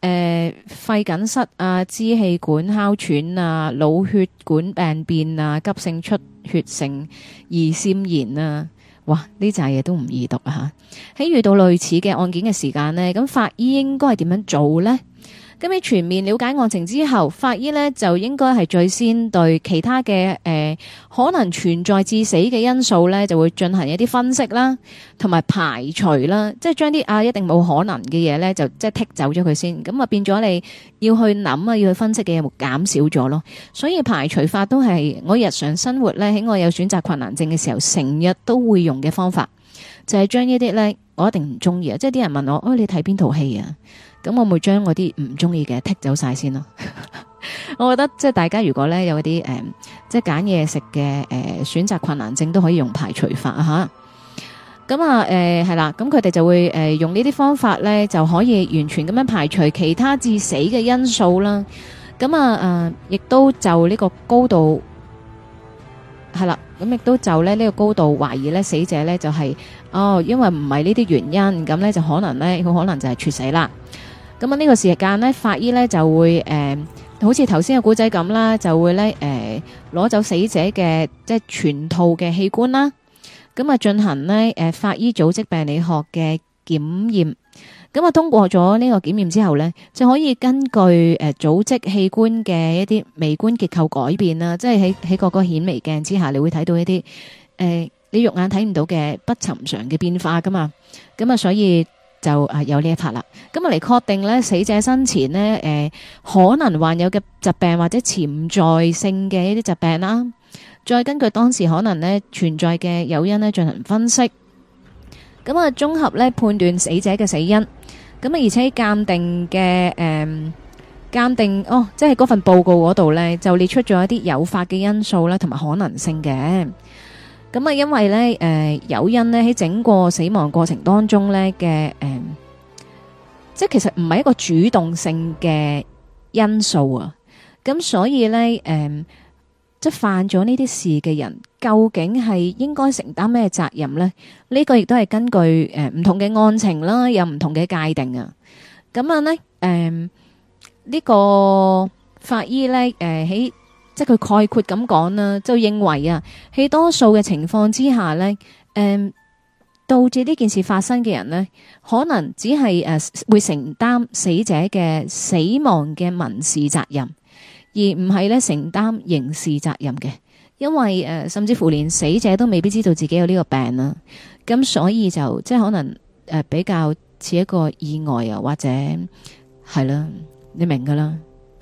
肺梗塞啊、支氣管哮喘啊、腦血管病變啊、急性出血性胰腺炎啊，哇！呢扎嘢都唔易讀啊吓。喺遇到類似嘅案件嘅時間呢，咁法醫應該係點樣做呢？咁喺全面了解案情之後，法醫呢就應該係最先對其他嘅可能存在致死嘅因素呢，就會進行一啲分析啦，同埋排除啦，即係將啲一定冇可能嘅嘢呢，就即係剔走咗佢先。咁啊變咗你要去諗啊，要去分析嘅嘢會減少咗咯。所以排除法都係我日常生活呢，喺我有選擇困難症嘅時候，成日都會用嘅方法，就係將呢啲呢，我一定唔中意啊！即係啲人問我，你睇邊套戲啊？咁我會將我啲唔中意嘅剔走晒先咯。我覺得即係大家如果咧有啲即係揀嘢食嘅選擇困難症都可以用排除法啊吓。咁係啦，咁佢哋就會用呢啲方法咧就可以完全咁樣排除其他致死嘅因素啦。咁亦都就呢個高度係啦，咁亦都就咧呢個高度懷疑咧死者咧就係因為唔係呢啲原因，咁咧就可能咧佢可能就係猝死啦。咁呢個時間呢，法醫呢就會好似頭先嘅古仔咁啦，就會呢攞走死者嘅即係全套嘅器官啦，咁進行呢法醫組織病理學嘅檢驗，咁通過咗呢個檢驗之後呢，就可以根據組織器官嘅一啲微觀結構改變啦，即係喺個顯微鏡之下，你會睇到一啲你肉眼睇唔到嘅不尋常嘅變化噶嘛，咁所以就有呢一 part 啦，咁嚟確定咧死者生前呢可能患有嘅疾病或者潛在性嘅一啲疾病啦，再根據當時可能呢存在嘅誘因呢進行分析，咁綜合呢判斷死者嘅死因，咁而且鑑定嘅鑑定即係嗰份報告嗰度呢就列出咗一啲誘發嘅因素啦，同埋可能性嘅。咁因為咧，誘因咧喺整個死亡過程當中咧嘅，即係其實唔係一個主動性嘅因素啊。咁所以咧，即係犯咗呢啲事嘅人，究竟係應該承擔咩責任咧？呢個亦都係根據唔同嘅案情啦，有唔同嘅界定啊。咁咧，呢個法醫咧，喺即係佢概括咁講啦，就認為喺多數嘅情況之下呢，導致呢件事發生嘅人呢，可能只係會承擔死者嘅死亡嘅民事責任，而唔係咧承擔刑事責任嘅，因為甚至乎連死者都未必知道自己有呢個病啦，咁所以就即係可能比較似一個意外啊，或者係啦，你明噶啦。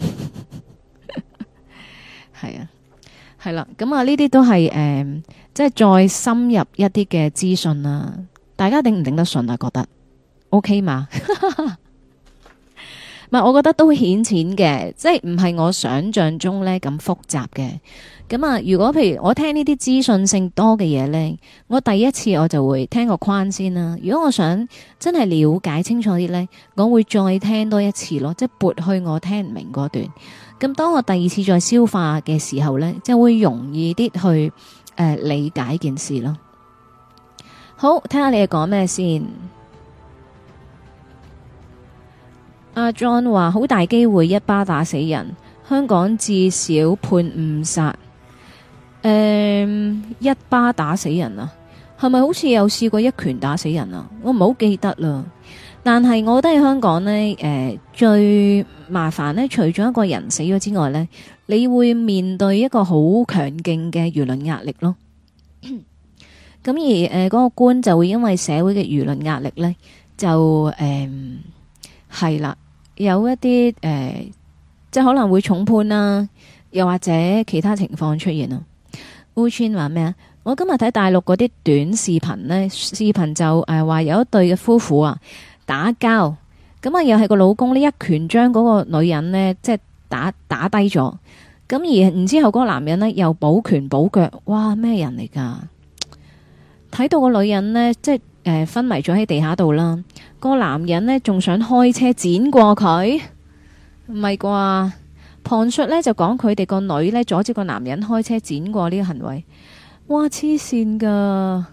係啊，係啦，咁呢啲都係即係再深入一啲嘅資訊啦。大家頂唔頂得順啊？覺得 OK 嘛？唔係，我覺得都顯淺嘅，即係唔係我想象中呢咁複雜嘅。咁如果譬如我聽呢啲資訊性多嘅嘢呢，我第一次我就會聽個框先啦。如果我想真係了解清楚啲呢，我會再聽多一次咯，即係撥去我聽唔明嗰段。咁當我第二次再消化嘅時候呢，就會容易啲去理解件事咯。好，睇下你哋講咩先。阿 John 話好大機會一巴打死人，香港至少判誤殺。一巴打死人啊？係咪好似有試過一拳打死人啊？我唔好記得啦。但係我覺得喺香港呢，最麻煩呢，除咗一個人死咗之外呢，你會面對一個好強勁嘅輿論壓力咯。咁而嗰個官就會因為社會嘅輿論壓力呢，就係啦，有一啲即係可能會重判啦，又或者其他情況出現啊。烏川話咩啊？我今日睇大陸嗰啲短視頻呢，視頻就話有一對嘅夫婦啊打交，咁又係個老公呢一拳將嗰個女人呢，即係打低咗，咁而然之後嗰個男人呢，又補拳補腳，哇，咩人嚟噶？睇到個女人呢，即係昏迷咗喺地下度啦，個男人呢，仲想開車剪過佢，唔係啩？旁述呢，就講佢哋個女呢，阻止個男人開車剪過呢個行為，哇，黐線噶！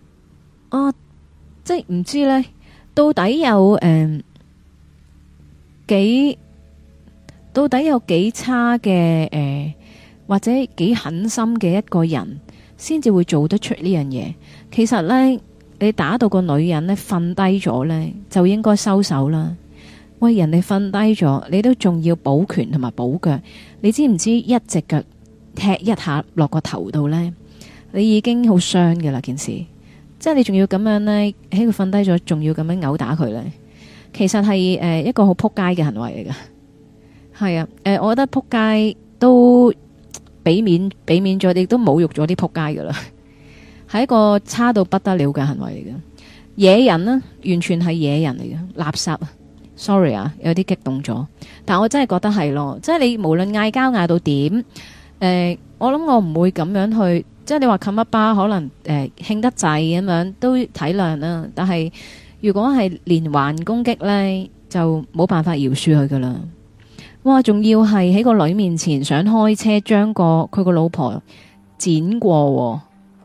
即係唔知呢，到底有幾到底有幾差嘅或者幾狠心嘅一個人，先至會做得出呢樣嘢。其實呢，你打到個女人呢瞓低咗呢，就應該收手啦。喂，人哋瞓低咗，你都仲要補拳同埋補腳，你知唔知一隻腳踢一下落個頭度呢，你已經好傷㗎啦件事。即係你仲要咁樣呢，喺佢瞓低咗，仲要咁樣毆打佢呢，其實係一個好撲街嘅行為嚟㗎。係啊，我覺得撲街都俾面咗，亦都侮辱咗啲撲街㗎啦。係一個差到不得了嘅行為嚟嘅，野人呢，完全係野人嚟嘅，垃圾啊！Sorry 啊，有啲激動咗，但我真係覺得係咯，即係你無論嗌交嗌到點，我諗我唔會咁樣去，即係你話冚一巴可能興得滯咁樣都體諒啦，但係如果係連環攻擊呢，就冇辦法饒恕佢噶啦。哇，仲要係喺個女面前想開車將佢個老婆剪過，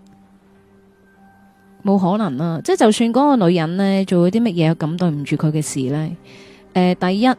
冇可能啦！即係就算嗰個女人呢做咗啲乜嘢咁對唔住佢嘅事呢，第一，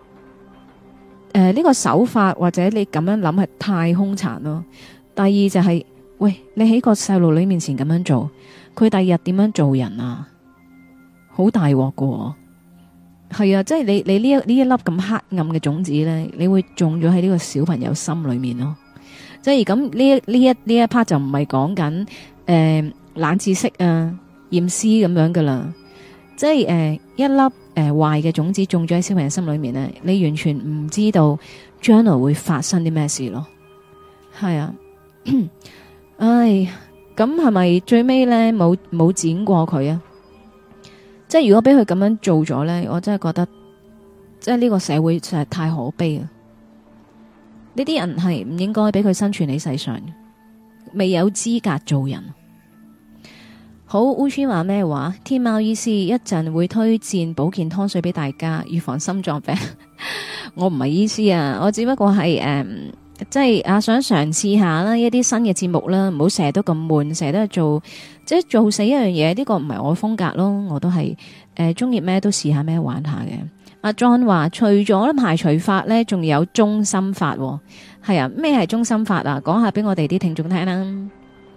呢個手法或者你咁樣諗係太兇殘咯。第二就係，喂，你喺個細路女面前咁樣做，佢第二日點樣做人啊？好大鑊噶，係啊！即係你呢一粒咁黑暗嘅種子呢，你會種咗喺呢個小朋友心裏面咯。即係咁呢一 part 就唔係講緊冷知識啊、驗屍咁樣噶啦，即係一粒壞嘅種子種咗喺小朋友心裏面呢，你完全唔知道將來會發生啲咩事咯。係啊，唉，咁係咪最尾呢冇剪過佢啊？即係如果俾佢咁樣做咗呢，我真係覺得，即係呢個社會實在太可悲啊！呢啲人係唔應該俾佢生存喺世上，未有資格做人。好，烏川話咩話？天貓醫師一陣會推薦保健湯水俾大家，預防心臟病。我唔係醫師啊，我只不過係即係想嘗試下啦，一啲新嘅節目啦，唔好成日都咁悶，成日都係做即係做死一樣嘢。呢個唔係我風格咯，我都係中意咩都試下咩玩下嘅。阿 John 話除咗排除法呢，仲有中心法。係啊，咩係中心法啊？講下俾我哋啲聽眾聽啦。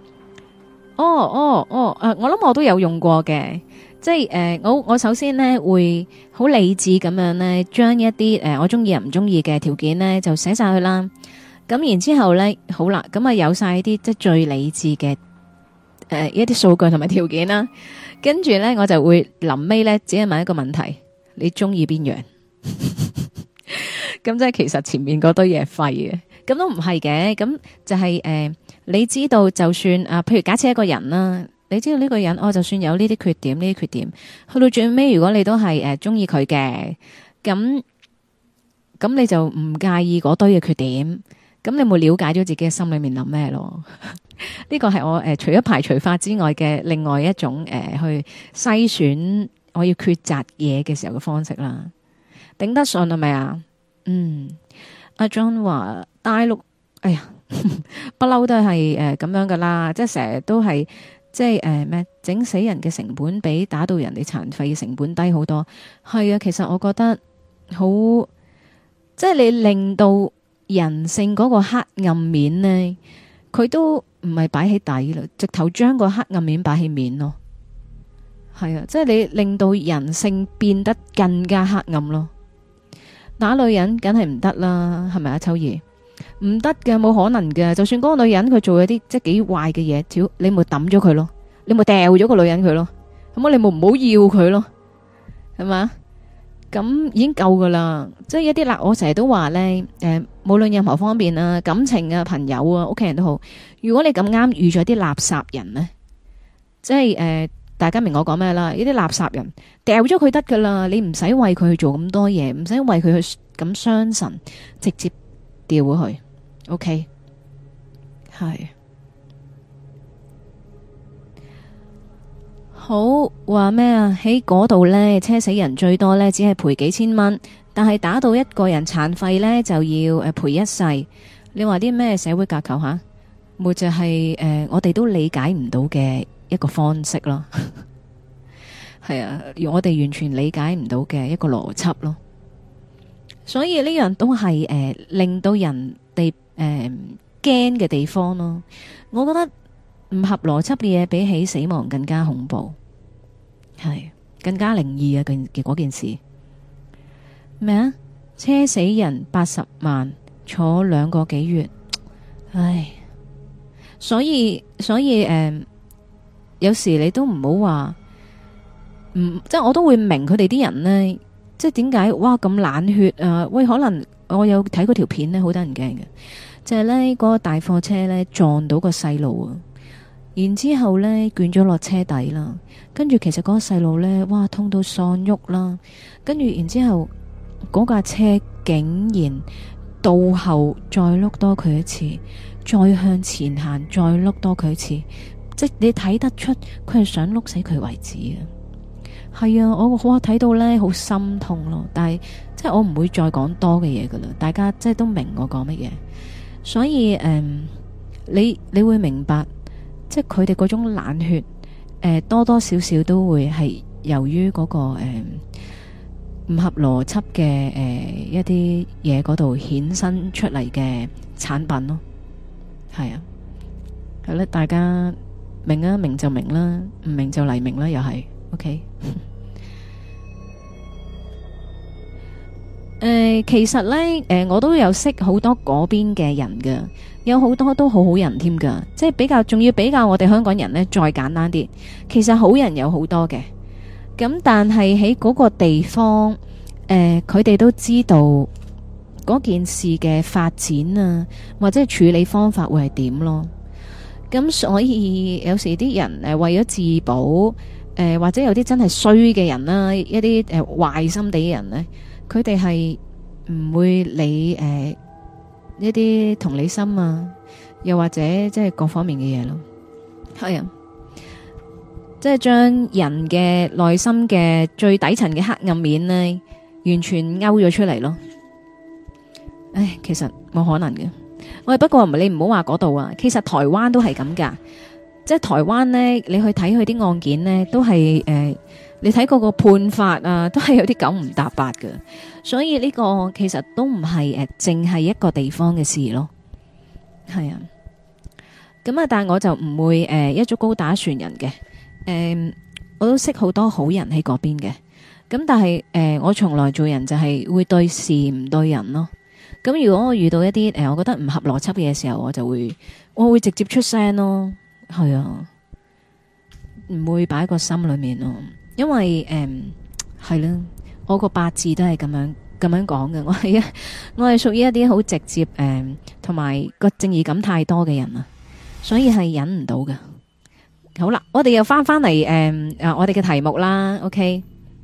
我諗我都有用過嘅，即係我首先呢會好理智咁樣呢，將一啲我中意又唔中意嘅條件呢就寫晒去啦。咁然之後呢，好啦，咁啊有晒啲即係最理智嘅一啲數據同埋條件啦。跟住呢，我就會臨尾呢，只係問一個問題：你中意邊樣？咁即係其實前面嗰堆嘢廢嘅，咁都唔係嘅。咁就係你知道就算譬如假設一個人啦，你知道呢個人就算有呢啲缺點，呢啲缺點去到最尾，如果你都係中意佢嘅，咁你就唔介意嗰堆嘅缺點，咁你冇了解咗自己嘅心裏面諗咩咯？呢個係我除咗排除法之外嘅另外一種去篩選我要抉擇嘢嘅時候嘅方式啦。頂得順係咪啊？阿 John 話大陸，哎呀。不嬲都係咁樣噶啦，即係成日都係即係咩整死人嘅成本比打到人哋殘廢嘅成本低好多。係啊，其實我覺得好，即係你令到人性嗰個黑暗面呢，佢都唔係擺喺底啦，直頭將個黑暗面擺喺面咯。係啊，即係你令到人性變得更加黑暗咯。打女人梗係唔得啦，係咪啊，秋兒？唔得嘅，冇可能嘅。就算嗰個女人佢做咗啲即係幾壞嘅嘢，你咪抌咗佢咯，你咪掉咗個女人佢咯，咁你咪唔好要佢咯，係嘛？咁已經夠噶啦。即係一啲我成日都話呢，無論任何方面啊，感情啊、朋友啊、屋企人都好，如果你咁啱遇咗啲垃圾人呢，即係大家明我講咩啦？呢啲垃圾人掉咗佢得噶啦，你唔使為佢去做咁多嘢，唔使為佢去咁傷神，直接掉咗佢。OK， 係好話咩啊？喺嗰度呢，車死人最多呢，只係賠幾千蚊，但係打到一個人殘廢呢，就要賠一世。你話啲咩社會架構吓？咪就係我哋都理解唔到嘅一個方式咯。係啊，我哋完全理解唔到嘅一個邏輯咯。 所以呢樣都係令到人哋驚嘅地方咯。我覺得唔合邏輯嘅嘢比起死亡更加恐怖，係更加靈異啊！嗰件事咩啊？車死人80萬，坐2個幾月，唉！所以有時你都唔好話，即係我都會明佢哋啲人呢，即係點解哇咁冷血啊？喂，可能我有睇嗰條片呢，好得人驚嘅，就係呢嗰個大貨車呢撞到個細路啊，然之後呢捲咗落車底啦，跟住其實嗰個細路呢，哇痛到喪喐啦，跟住然之後嗰架車竟然倒後再碌多佢一次，再向前行再碌多佢一次，即係你睇得出佢係想碌死佢為止啊！係啊，我睇到呢好心痛咯，但係即係我唔會再講多嘅嘢噶啦，大家即係都明我講乜嘢，所以你會明白，即係佢哋嗰種冷血，多多少少都會係由於嗰個唔合邏輯嘅一啲嘢嗰度衍生出嚟嘅產品咯，係啊，係啦，大家明啊，明就明啦，唔明就黎明啦，又係 OK。其實呢，我都有識好多嗰邊嘅人㗎，有好多都好好人添㗎，即係仲要比較我哋香港人呢，再簡單啲。其實好人有好多嘅，咁但係喺嗰個地方，佢哋都知道嗰件事嘅發展啊，或者係處理方法會係點咯。咁所以有時啲人為咗自保，或者有啲真係衰嘅人啦，一啲壞心地嘅人呢，佢哋係唔會理一啲同理心啊，又或者即係各方面嘅嘢咯。係啊，即係將人嘅內心嘅最底層嘅黑暗面呢，完全勾咗出嚟咯。唉，其實冇可能嘅。喂，不過你唔好話嗰度啊，其實台灣都係咁噶。即係台灣呢，你去睇佢啲案件呢，都係你睇嗰個判法啊，都係有啲九唔搭八嘅。所以呢個其實都唔係淨係一個地方嘅事咯。係啊，咁啊，但係我就唔會一竹篙打船人嘅。我都識好多好人喺嗰邊嘅。咁但係我從來做人就係會對事唔對人咯。咁如果我遇到一啲我覺得唔合邏輯嘅時候，我會直接出聲咯。係啊，唔會擺喺個心裏面咯。因為係啦，我個八字都係咁樣講嘅。我係屬於一啲好直接同埋個正義感太多嘅人啊，所以係忍唔到嘅。好啦，我哋又翻嚟我哋嘅題目啦。OK，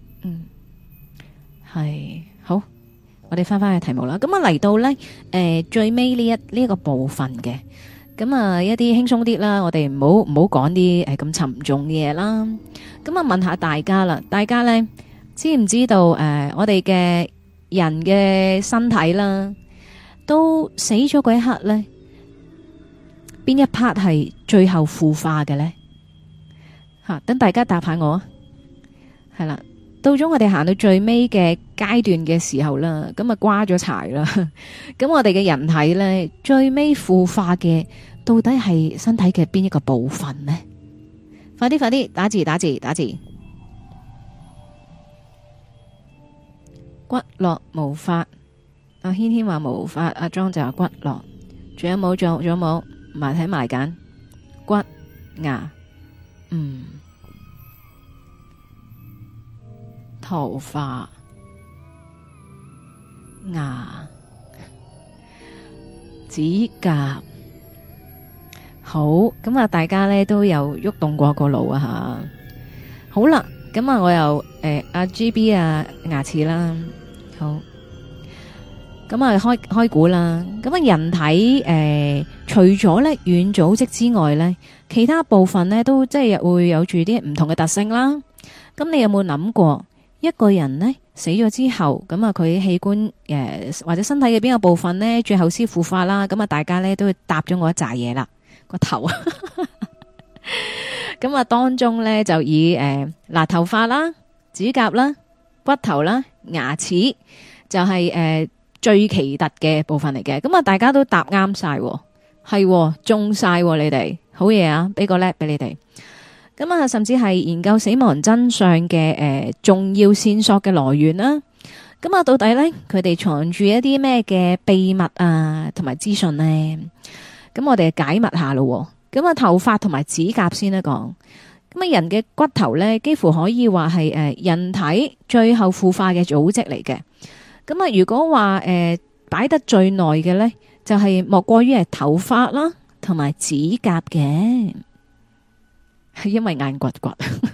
係好。我哋翻去題目啦，咁啊嚟到呢最尾呢一個部分嘅，咁啊一啲輕鬆啲啦，我哋唔好講啲咁沉重嘅嘢啦。咁啊問下大家啦，大家呢知唔知道我哋嘅人嘅身體啦，都死咗嗰一刻呢，邊一 part 係最後腐化嘅呢？吓，等大家答下我啊，係啦。到咗我哋行到最尾嘅階段嘅時候啦，咁啊瓜咗柴啦，咁我哋嘅人體呢，最尾腐化嘅到底係身體嘅邊一個部分呢？快啲打字，骨骼無法，阿軒軒話無法，阿莊就話骨骼，仲有冇？埋睇埋揀骨牙，頭髮、牙、指甲，好，咁啊！大家呢都有喐動過個腦啊吓。好啦，咁啊，我又阿 GB 啊牙齒啦，好，咁啊開估啦。咁啊，人體除咗呢軟組織之外呢，其他部分呢都即係會有住啲唔同嘅特性啦。咁你有冇諗過？一個人呢死咗之後，咁啊佢器官或者身體嘅邊個部分呢最後先腐化啦？咁啊大家呢都會搭咗我一紮嘢啦，個頭。咁啊當中呢就以頭髮啦、指甲啦、骨頭啦、牙齒， 就係最奇特嘅部分嚟嘅。咁啊，大家都答啱晒，係中晒你哋，好嘢啊！俾個叻俾你哋。咁啊，甚至係研究死亡真相嘅重要線索嘅來源啦。咁啊，到底咧佢哋藏住一啲咩嘅秘密啊，同埋資訊呢？咁我哋解密下咯。咁啊，頭髮同埋指甲先啦講。咁啊，人嘅骨頭咧，幾乎可以話係人體最後腐化嘅組織嚟嘅。咁啊，如果話擺得最耐嘅咧，就係莫過於係頭髮啦，同埋指甲嘅，係因為硬骨骨。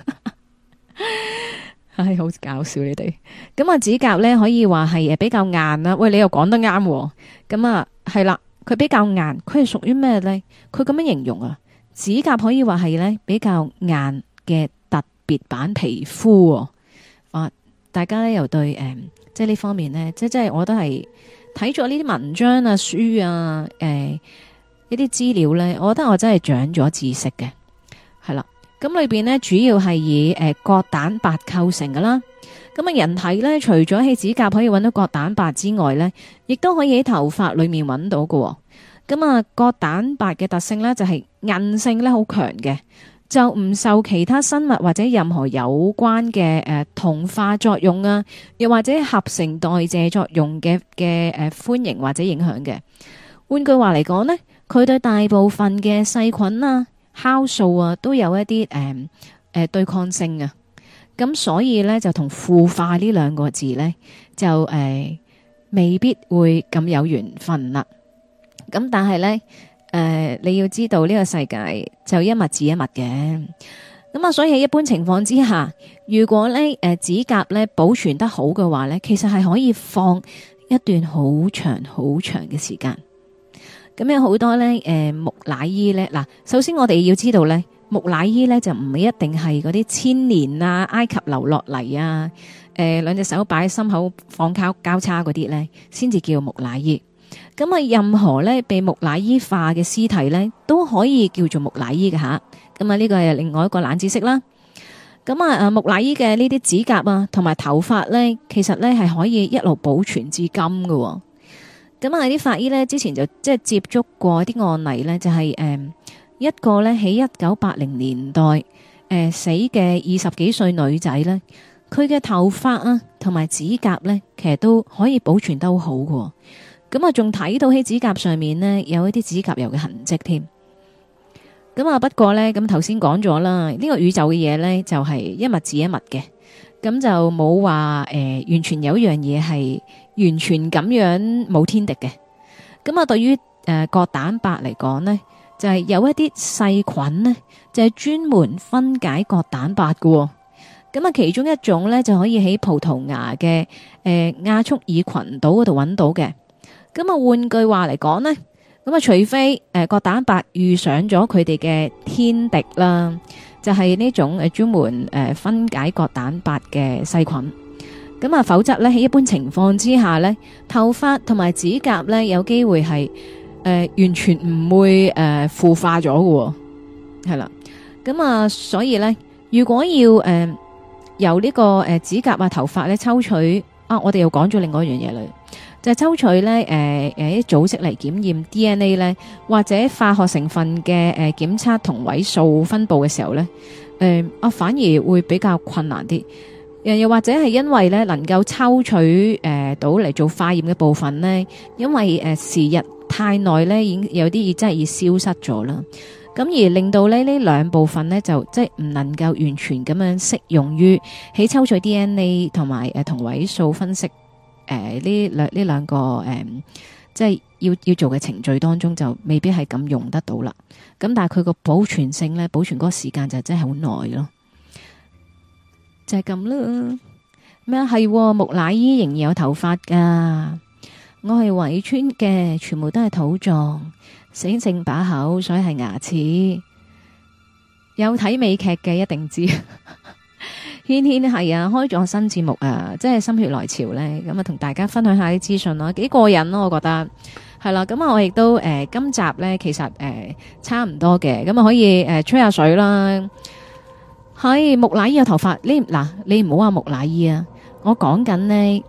唉，好搞笑你哋。咁啊，指甲咧可以話係比較硬啦。喂，你又講得啱。咁啊，係啦，佢比較硬，佢係屬於咩咧？佢咁樣形容啊，指甲可以話係咧比較硬嘅特別版皮膚。啊，大家咧又對即係呢方面咧，即係我都係睇咗呢啲文章啊、書啊、一啲資料咧，我覺得我真係長咗知識嘅，係啦。咁裏邊呢，主要係以角蛋白構成噶啦。咁啊，人體呢，除咗喺指甲可以揾到角蛋白之外呢，亦都可以喺頭髮裏面揾到喎。咁啊，角蛋白嘅特性呢，就係韌性呢好強嘅，就唔受其他生物或者任何有關嘅同化作用啊，又或者合成代謝作用嘅歡迎或者影響嘅。換句話嚟講呢，佢對大部分嘅細菌啊、酵素啊都有一啲對抗性啊，咁所以咧就同腐化呢兩個字咧就未必會咁有緣分啦。咁但係咧你要知道呢個世界就一物治一物嘅，咁啊所以喺一般情況之下，如果咧指甲咧保存得好嘅話咧，其實係可以放一段好長好長嘅時間。咁有好多咧，木乃伊咧，嗱，首先我哋要知道咧，木乃伊咧就唔係一定係嗰啲千年啊，埃及留落嚟啊，兩隻手擺喺心口放交叉嗰啲咧，先至叫木乃伊。咁啊，任何咧被木乃伊化嘅屍體咧，都可以叫做木乃伊嘅吓。咁啊，呢個係另外一個冷知識啦。咁啊，木乃伊嘅呢啲指甲啊，同埋頭髮咧，其實咧係可以一路保存至今喎。咁啊！啲法醫咧之前就即係接觸過啲案例咧，就係一個咧喺1980年代死嘅20幾歲女仔咧，佢嘅頭髮啊同埋指甲咧，其實都可以保存得好好嘅。咁啊，仲睇到喺指甲上面呢，有一啲指甲油嘅痕跡添。咁啊，不過咧咁頭先講咗啦，呢個宇宙嘅嘢咧就係一物治一物嘅，咁就冇話完全有一樣嘢係完全咁樣冇天敵嘅。咁啊，對於角蛋白嚟講呢，就係有一啲細菌呢，就係專門分解角蛋白嘅。咁啊，其中一種呢，就可以喺葡萄牙嘅亞速爾群島嗰度揾到嘅。咁啊，換句話嚟講呢，咁啊，除非角蛋白遇上咗佢哋嘅天敵啦，就係呢種專門分解角蛋白嘅細菌。咁啊，否則咧喺一般情況之下咧，頭髮同埋指甲咧有機會係完全唔會腐化咗嘅，係啦。咁啊，所以咧，如果要由呢個指甲啊頭髮咧抽取啊，我哋又講咗另外一樣嘢啦，就係抽取咧啲組織嚟檢驗 DNA 咧，或者化學成分嘅檢測同位素分布嘅時候咧，反而會比較困難啲。又或者係因為咧能夠抽取到嚟做化驗嘅部分呢，因為時日太耐咧，已經有啲真係已消失咗啦。咁而令到呢兩部分呢，就即係唔能夠完全咁樣適用於喺抽取 DNA 同埋同位素分析呢兩個即係要做嘅程序當中，就未必係咁用得到啦。咁但係佢個保存性呢，保存嗰個時間就真係好耐咯。就係咁啦。咩係木乃伊仍然有頭髮噶？我係圍村嘅，全部都係土葬，醒剩把口，所以係牙齒。有睇美劇嘅一定知。軒軒係啊，開咗新節目啊，即係心血來潮呢。咁啊同大家分享下啲資訊咯，幾過癮咯，我覺得係啦。咁啊，我亦都今集呢，其實差唔多嘅，咁啊可以吹下水啦。係木乃伊有頭髮，你唔好話木乃伊啊，我講緊呢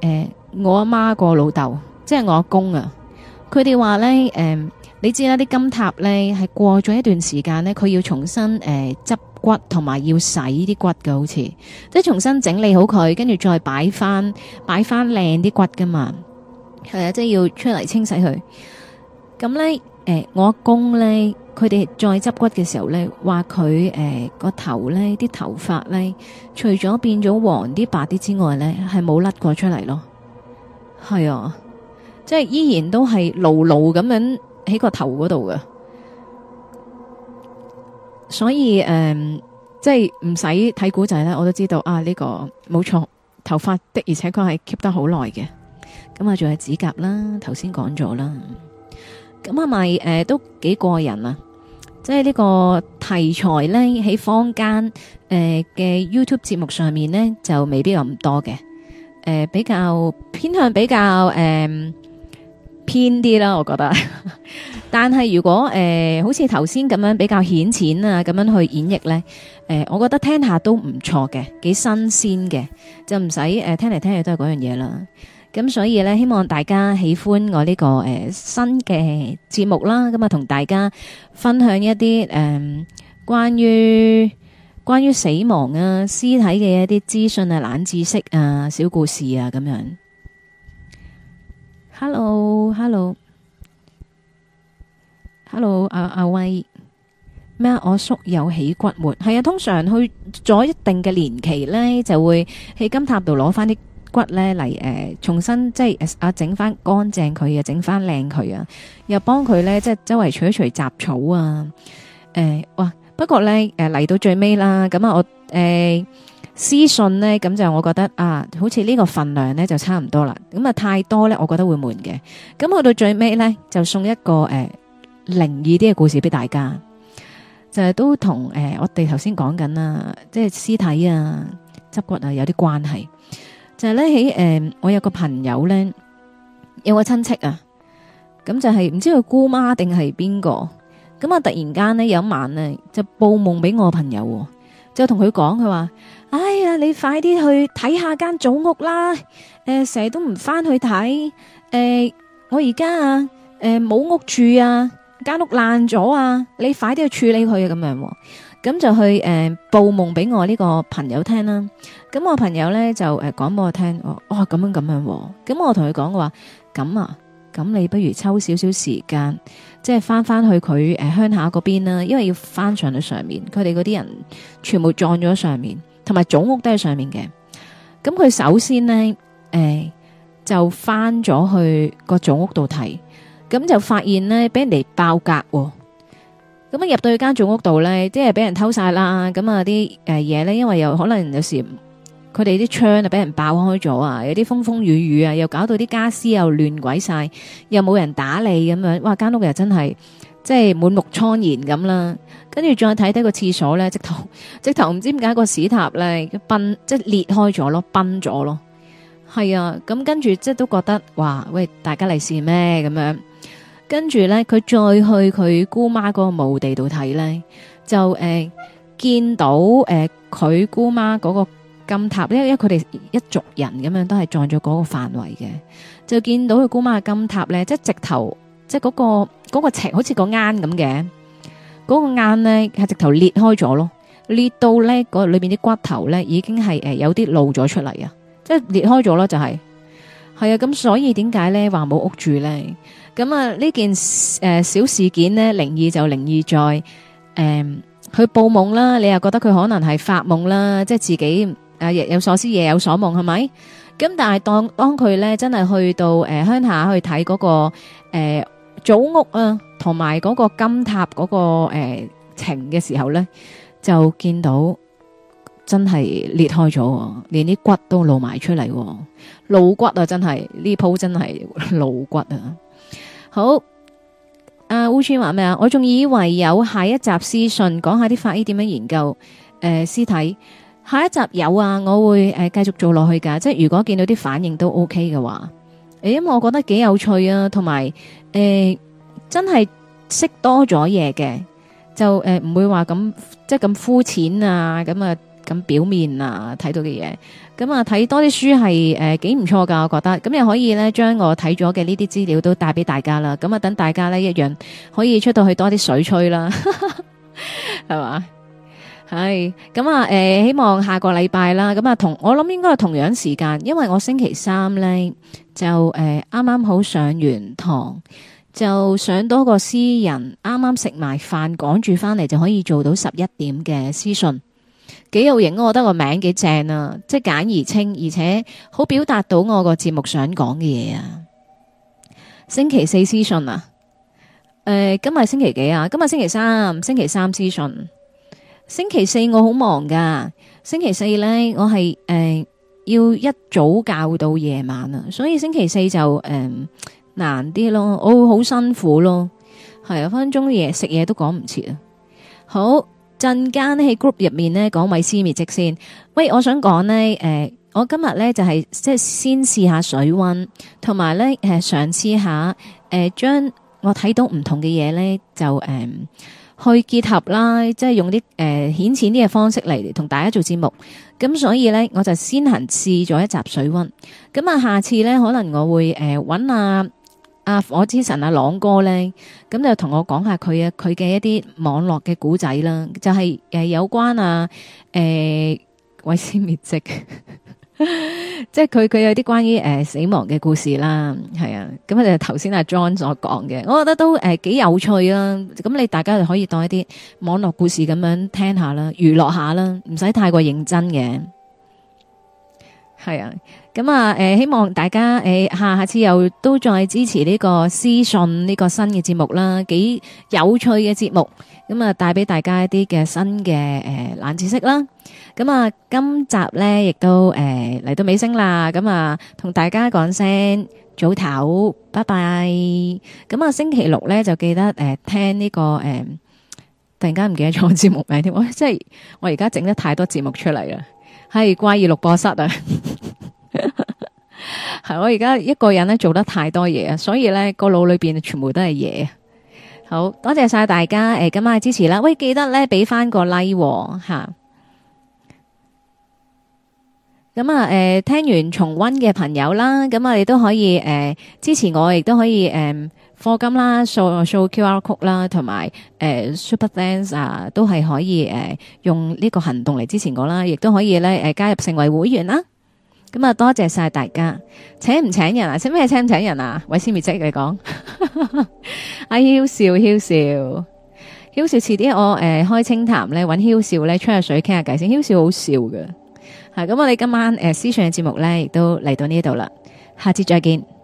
我阿媽個老豆，即係我阿公啊，佢哋話咧，你知啦，啲金塔咧係過咗一段時間咧，佢要重新執骨同埋要洗啲骨嘅，好似即係重新整理好佢，跟住再擺翻靚啲骨噶嘛，係啊，即係要出嚟清洗佢。咁咧，我阿公咧，佢哋再執骨嘅時候咧，話佢個頭咧啲頭髮咧，除咗變咗黃啲白啲之外咧，係冇甩過出嚟咯。係啊，即係依然都係牢牢咁樣喺個頭嗰度嘅，所以即係唔使睇古仔咧，我都知道啊，呢個冇錯，頭髮的而且確係 keep 得好耐嘅。咁啊，仲有指甲啦，頭先講咗啦。咁係咪都幾過癮啊？即係呢個題材咧，喺坊間嘅 YouTube 節目上面咧，就未必有咁多嘅。比較偏向比較偏啲啦，我覺得。但係如果好似頭先咁樣比較顯淺啊，咁樣去演繹咧，我覺得聽下都唔錯嘅，幾新鮮嘅，就唔使聽嚟聽去都係嗰樣嘢啦。咁所以咧，希望大家喜歡我呢個新嘅節目啦。咁啊，同大家分享一啲關於死亡啊、屍體嘅一啲資訊啊、冷知識啊、小故事啊咁樣。Hello，阿威咩？我叔有起骨末，係啊，通常去咗一定嘅年期咧，就會喺金塔度攞翻啲骨咧嚟重新即係整翻乾淨佢啊，整翻靚佢啊，又幫佢咧即係周圍除一除雜草啊。哇！不過咧嚟到最尾啦，咁啊我私信咧，咁就我覺得啊，好似呢個份量咧就差唔多啦。咁啊太多咧，我覺得會悶嘅。咁去到最尾咧，就送一個靈異啲嘅故事俾大家，就係都同我哋頭先講緊啦，即係屍體啊、執骨啊有啲關係。就係咧喺我有個朋友咧，有個親戚啊，咁就係唔知佢姑媽定係邊個，咁啊突然間咧有一晚咧就報夢俾我朋友，就同佢講，佢話：哎呀，你快啲去睇下間祖屋啦！成日都唔翻去睇，我而家啊冇屋住啊，間屋爛咗啊，你快啲去處理佢啊！咁樣，咁就去報夢俾我呢個朋友聽啦。咁我朋友咧就講俾我聽，咁樣，咁我同佢講話，咁你不如抽少少時間，即係翻去佢鄉下嗰邊啦，因為要翻上去上面，佢哋嗰啲人全部葬咗上面，同埋祖屋都喺上面嘅。咁佢首先呢，就翻咗去個祖屋度睇，咁就發現呢，俾人哋爆格喎。咁啊入到去間祖屋度咧，即係俾人偷晒啦。咁啊啲嘢咧，因為有可能有時佢哋啲窗啊俾人爆開咗啊，有啲風風雨雨啊，又搞到啲家私又亂鬼晒，又冇人打理咁樣。哇！間屋又真係即係滿目瘡痍咁啦。跟住再睇睇個廁所咧，直頭唔知點解個屎塔咧即係裂開咗咯，崩咗咯。係啊，咁跟住即係都覺得哇，喂，大家利是咩咁樣？跟住咧，佢再去佢姑媽嗰個墓地度睇咧，就見到佢姑媽嗰個金塔，因為佢哋一族人咁樣都係葬咗嗰個範圍嘅，就見到佢姑媽嘅金塔咧，即係直頭，即係嗰個尺好似個罌咁嘅，嗰個罌咧係直頭裂開咗咯，裂到咧嗰裏邊啲骨頭咧已經係有啲露咗出嚟啊，即係裂開咗咯，就係啊，咁所以點解咧話冇屋住咧？咁啊呢件小事件呢，靈異就靈異在佢報夢啦，你又覺得佢可能係發夢啦，即係自己日有所思夜有所夢係咪？咁但係當佢咧真係去到鄉下去睇嗰個祖屋啊，同埋嗰個金塔嗰個情嘅時候咧，就見到真係裂開咗，連啲骨都露埋出嚟，露骨啊！真係呢鋪真係露骨啊！好，阿烏川話咩啊？我仲以為有下一集私信講下啲法醫點樣研究屍體，下一集有啊，我會繼續做落去噶。即係如果見到啲反應都 OK 嘅話，因為我覺得幾有趣啊，同埋真係識多咗嘢嘅，就唔會話咁即係咁膚淺啊，咁啊咁表面啊睇到嘅嘢。咁啊睇多啲書係幾唔錯噶，我覺得。咁又可以咧將我睇咗嘅呢啲資料都帶俾大家啦。咁啊等大家咧一樣可以出到去多啲水吹啦，係嘛？係咁啊！希望下個禮拜啦，咁啊我諗應該係同樣時間，因為我星期三咧就啱啱好上完堂，就上多個私人，啱啱食埋飯，趕住翻嚟就可以做到11點嘅私訊，幾有型，我覺得個名幾正啊！即係簡而清，而且好表達到我個節目想講嘅嘢啊！星期四私訊啊，今日星期幾啊？今日星期三，星期三私訊。星期四我好忙噶，星期四咧我係要一早教到夜晚啊，所以星期四就難啲咯，我會好辛苦咯，係啊，分分鐘嘢食嘢都講唔切啊。好，陣間喺 group 入面咧講毀屍滅跡先。喂，我想講咧我今日咧就係即係先試下水溫，同埋咧嘗試下將我睇到唔同嘅嘢咧就去結合啦，即係用啲顯淺啲嘅方式嚟同大家做節目。咁所以咧，我就先行試咗一集水溫。咁啊，下次咧可能我會揾阿火之神阿朗哥咧，咁就同我講下佢嘅一啲網絡嘅古仔啦，就係有關毀屍滅跡。即係佢有啲關於死亡嘅故事啦，係啊，咁就頭先阿 John 所講嘅，我覺得都幾有趣啦。咁你大家就可以當一啲網絡故事咁樣聽下啦，娛樂下啦，唔使太過認真嘅。係啊，咁啊希望大家下次又都再支持呢個屍訊呢個新嘅節目啦，幾有趣嘅節目，咁啊帶俾大家一啲嘅新嘅冷知識啦。咁啊，今集咧亦都嚟到尾聲啦，咁啊同大家講聲早唞，拜拜。咁啊星期六咧就記得聽呢個突然間唔記得咗節目名添，即係我而家整得太多節目出嚟啦，係怪異錄播室啊，係我而家一個人咧做得太多嘢啊，所以咧個腦裏邊全部都係嘢。好多謝晒大家今晚嘅支持啦，喂，記得咧俾翻個 like 吓。咁啊，聽完重溫嘅朋友啦，咁啊，你都可以支持我，亦都可以課金啦，掃 QR code 啦，同埋Super Thanks 啊，都係可以用呢個行動嚟支持我啦，亦都可以咧加入成為會員啦。咁啊，多謝晒大家。請唔請人啊？請咩請唔請人啊？毀屍滅跡嚟講，阿囂笑囂笑囂笑，遲啲我開清談咧，搵囂笑咧吹下水傾下偈先。囂笑好笑嘅。咁我哋今晚屍訊嘅節目咧，亦都嚟到呢度啦，下次再見。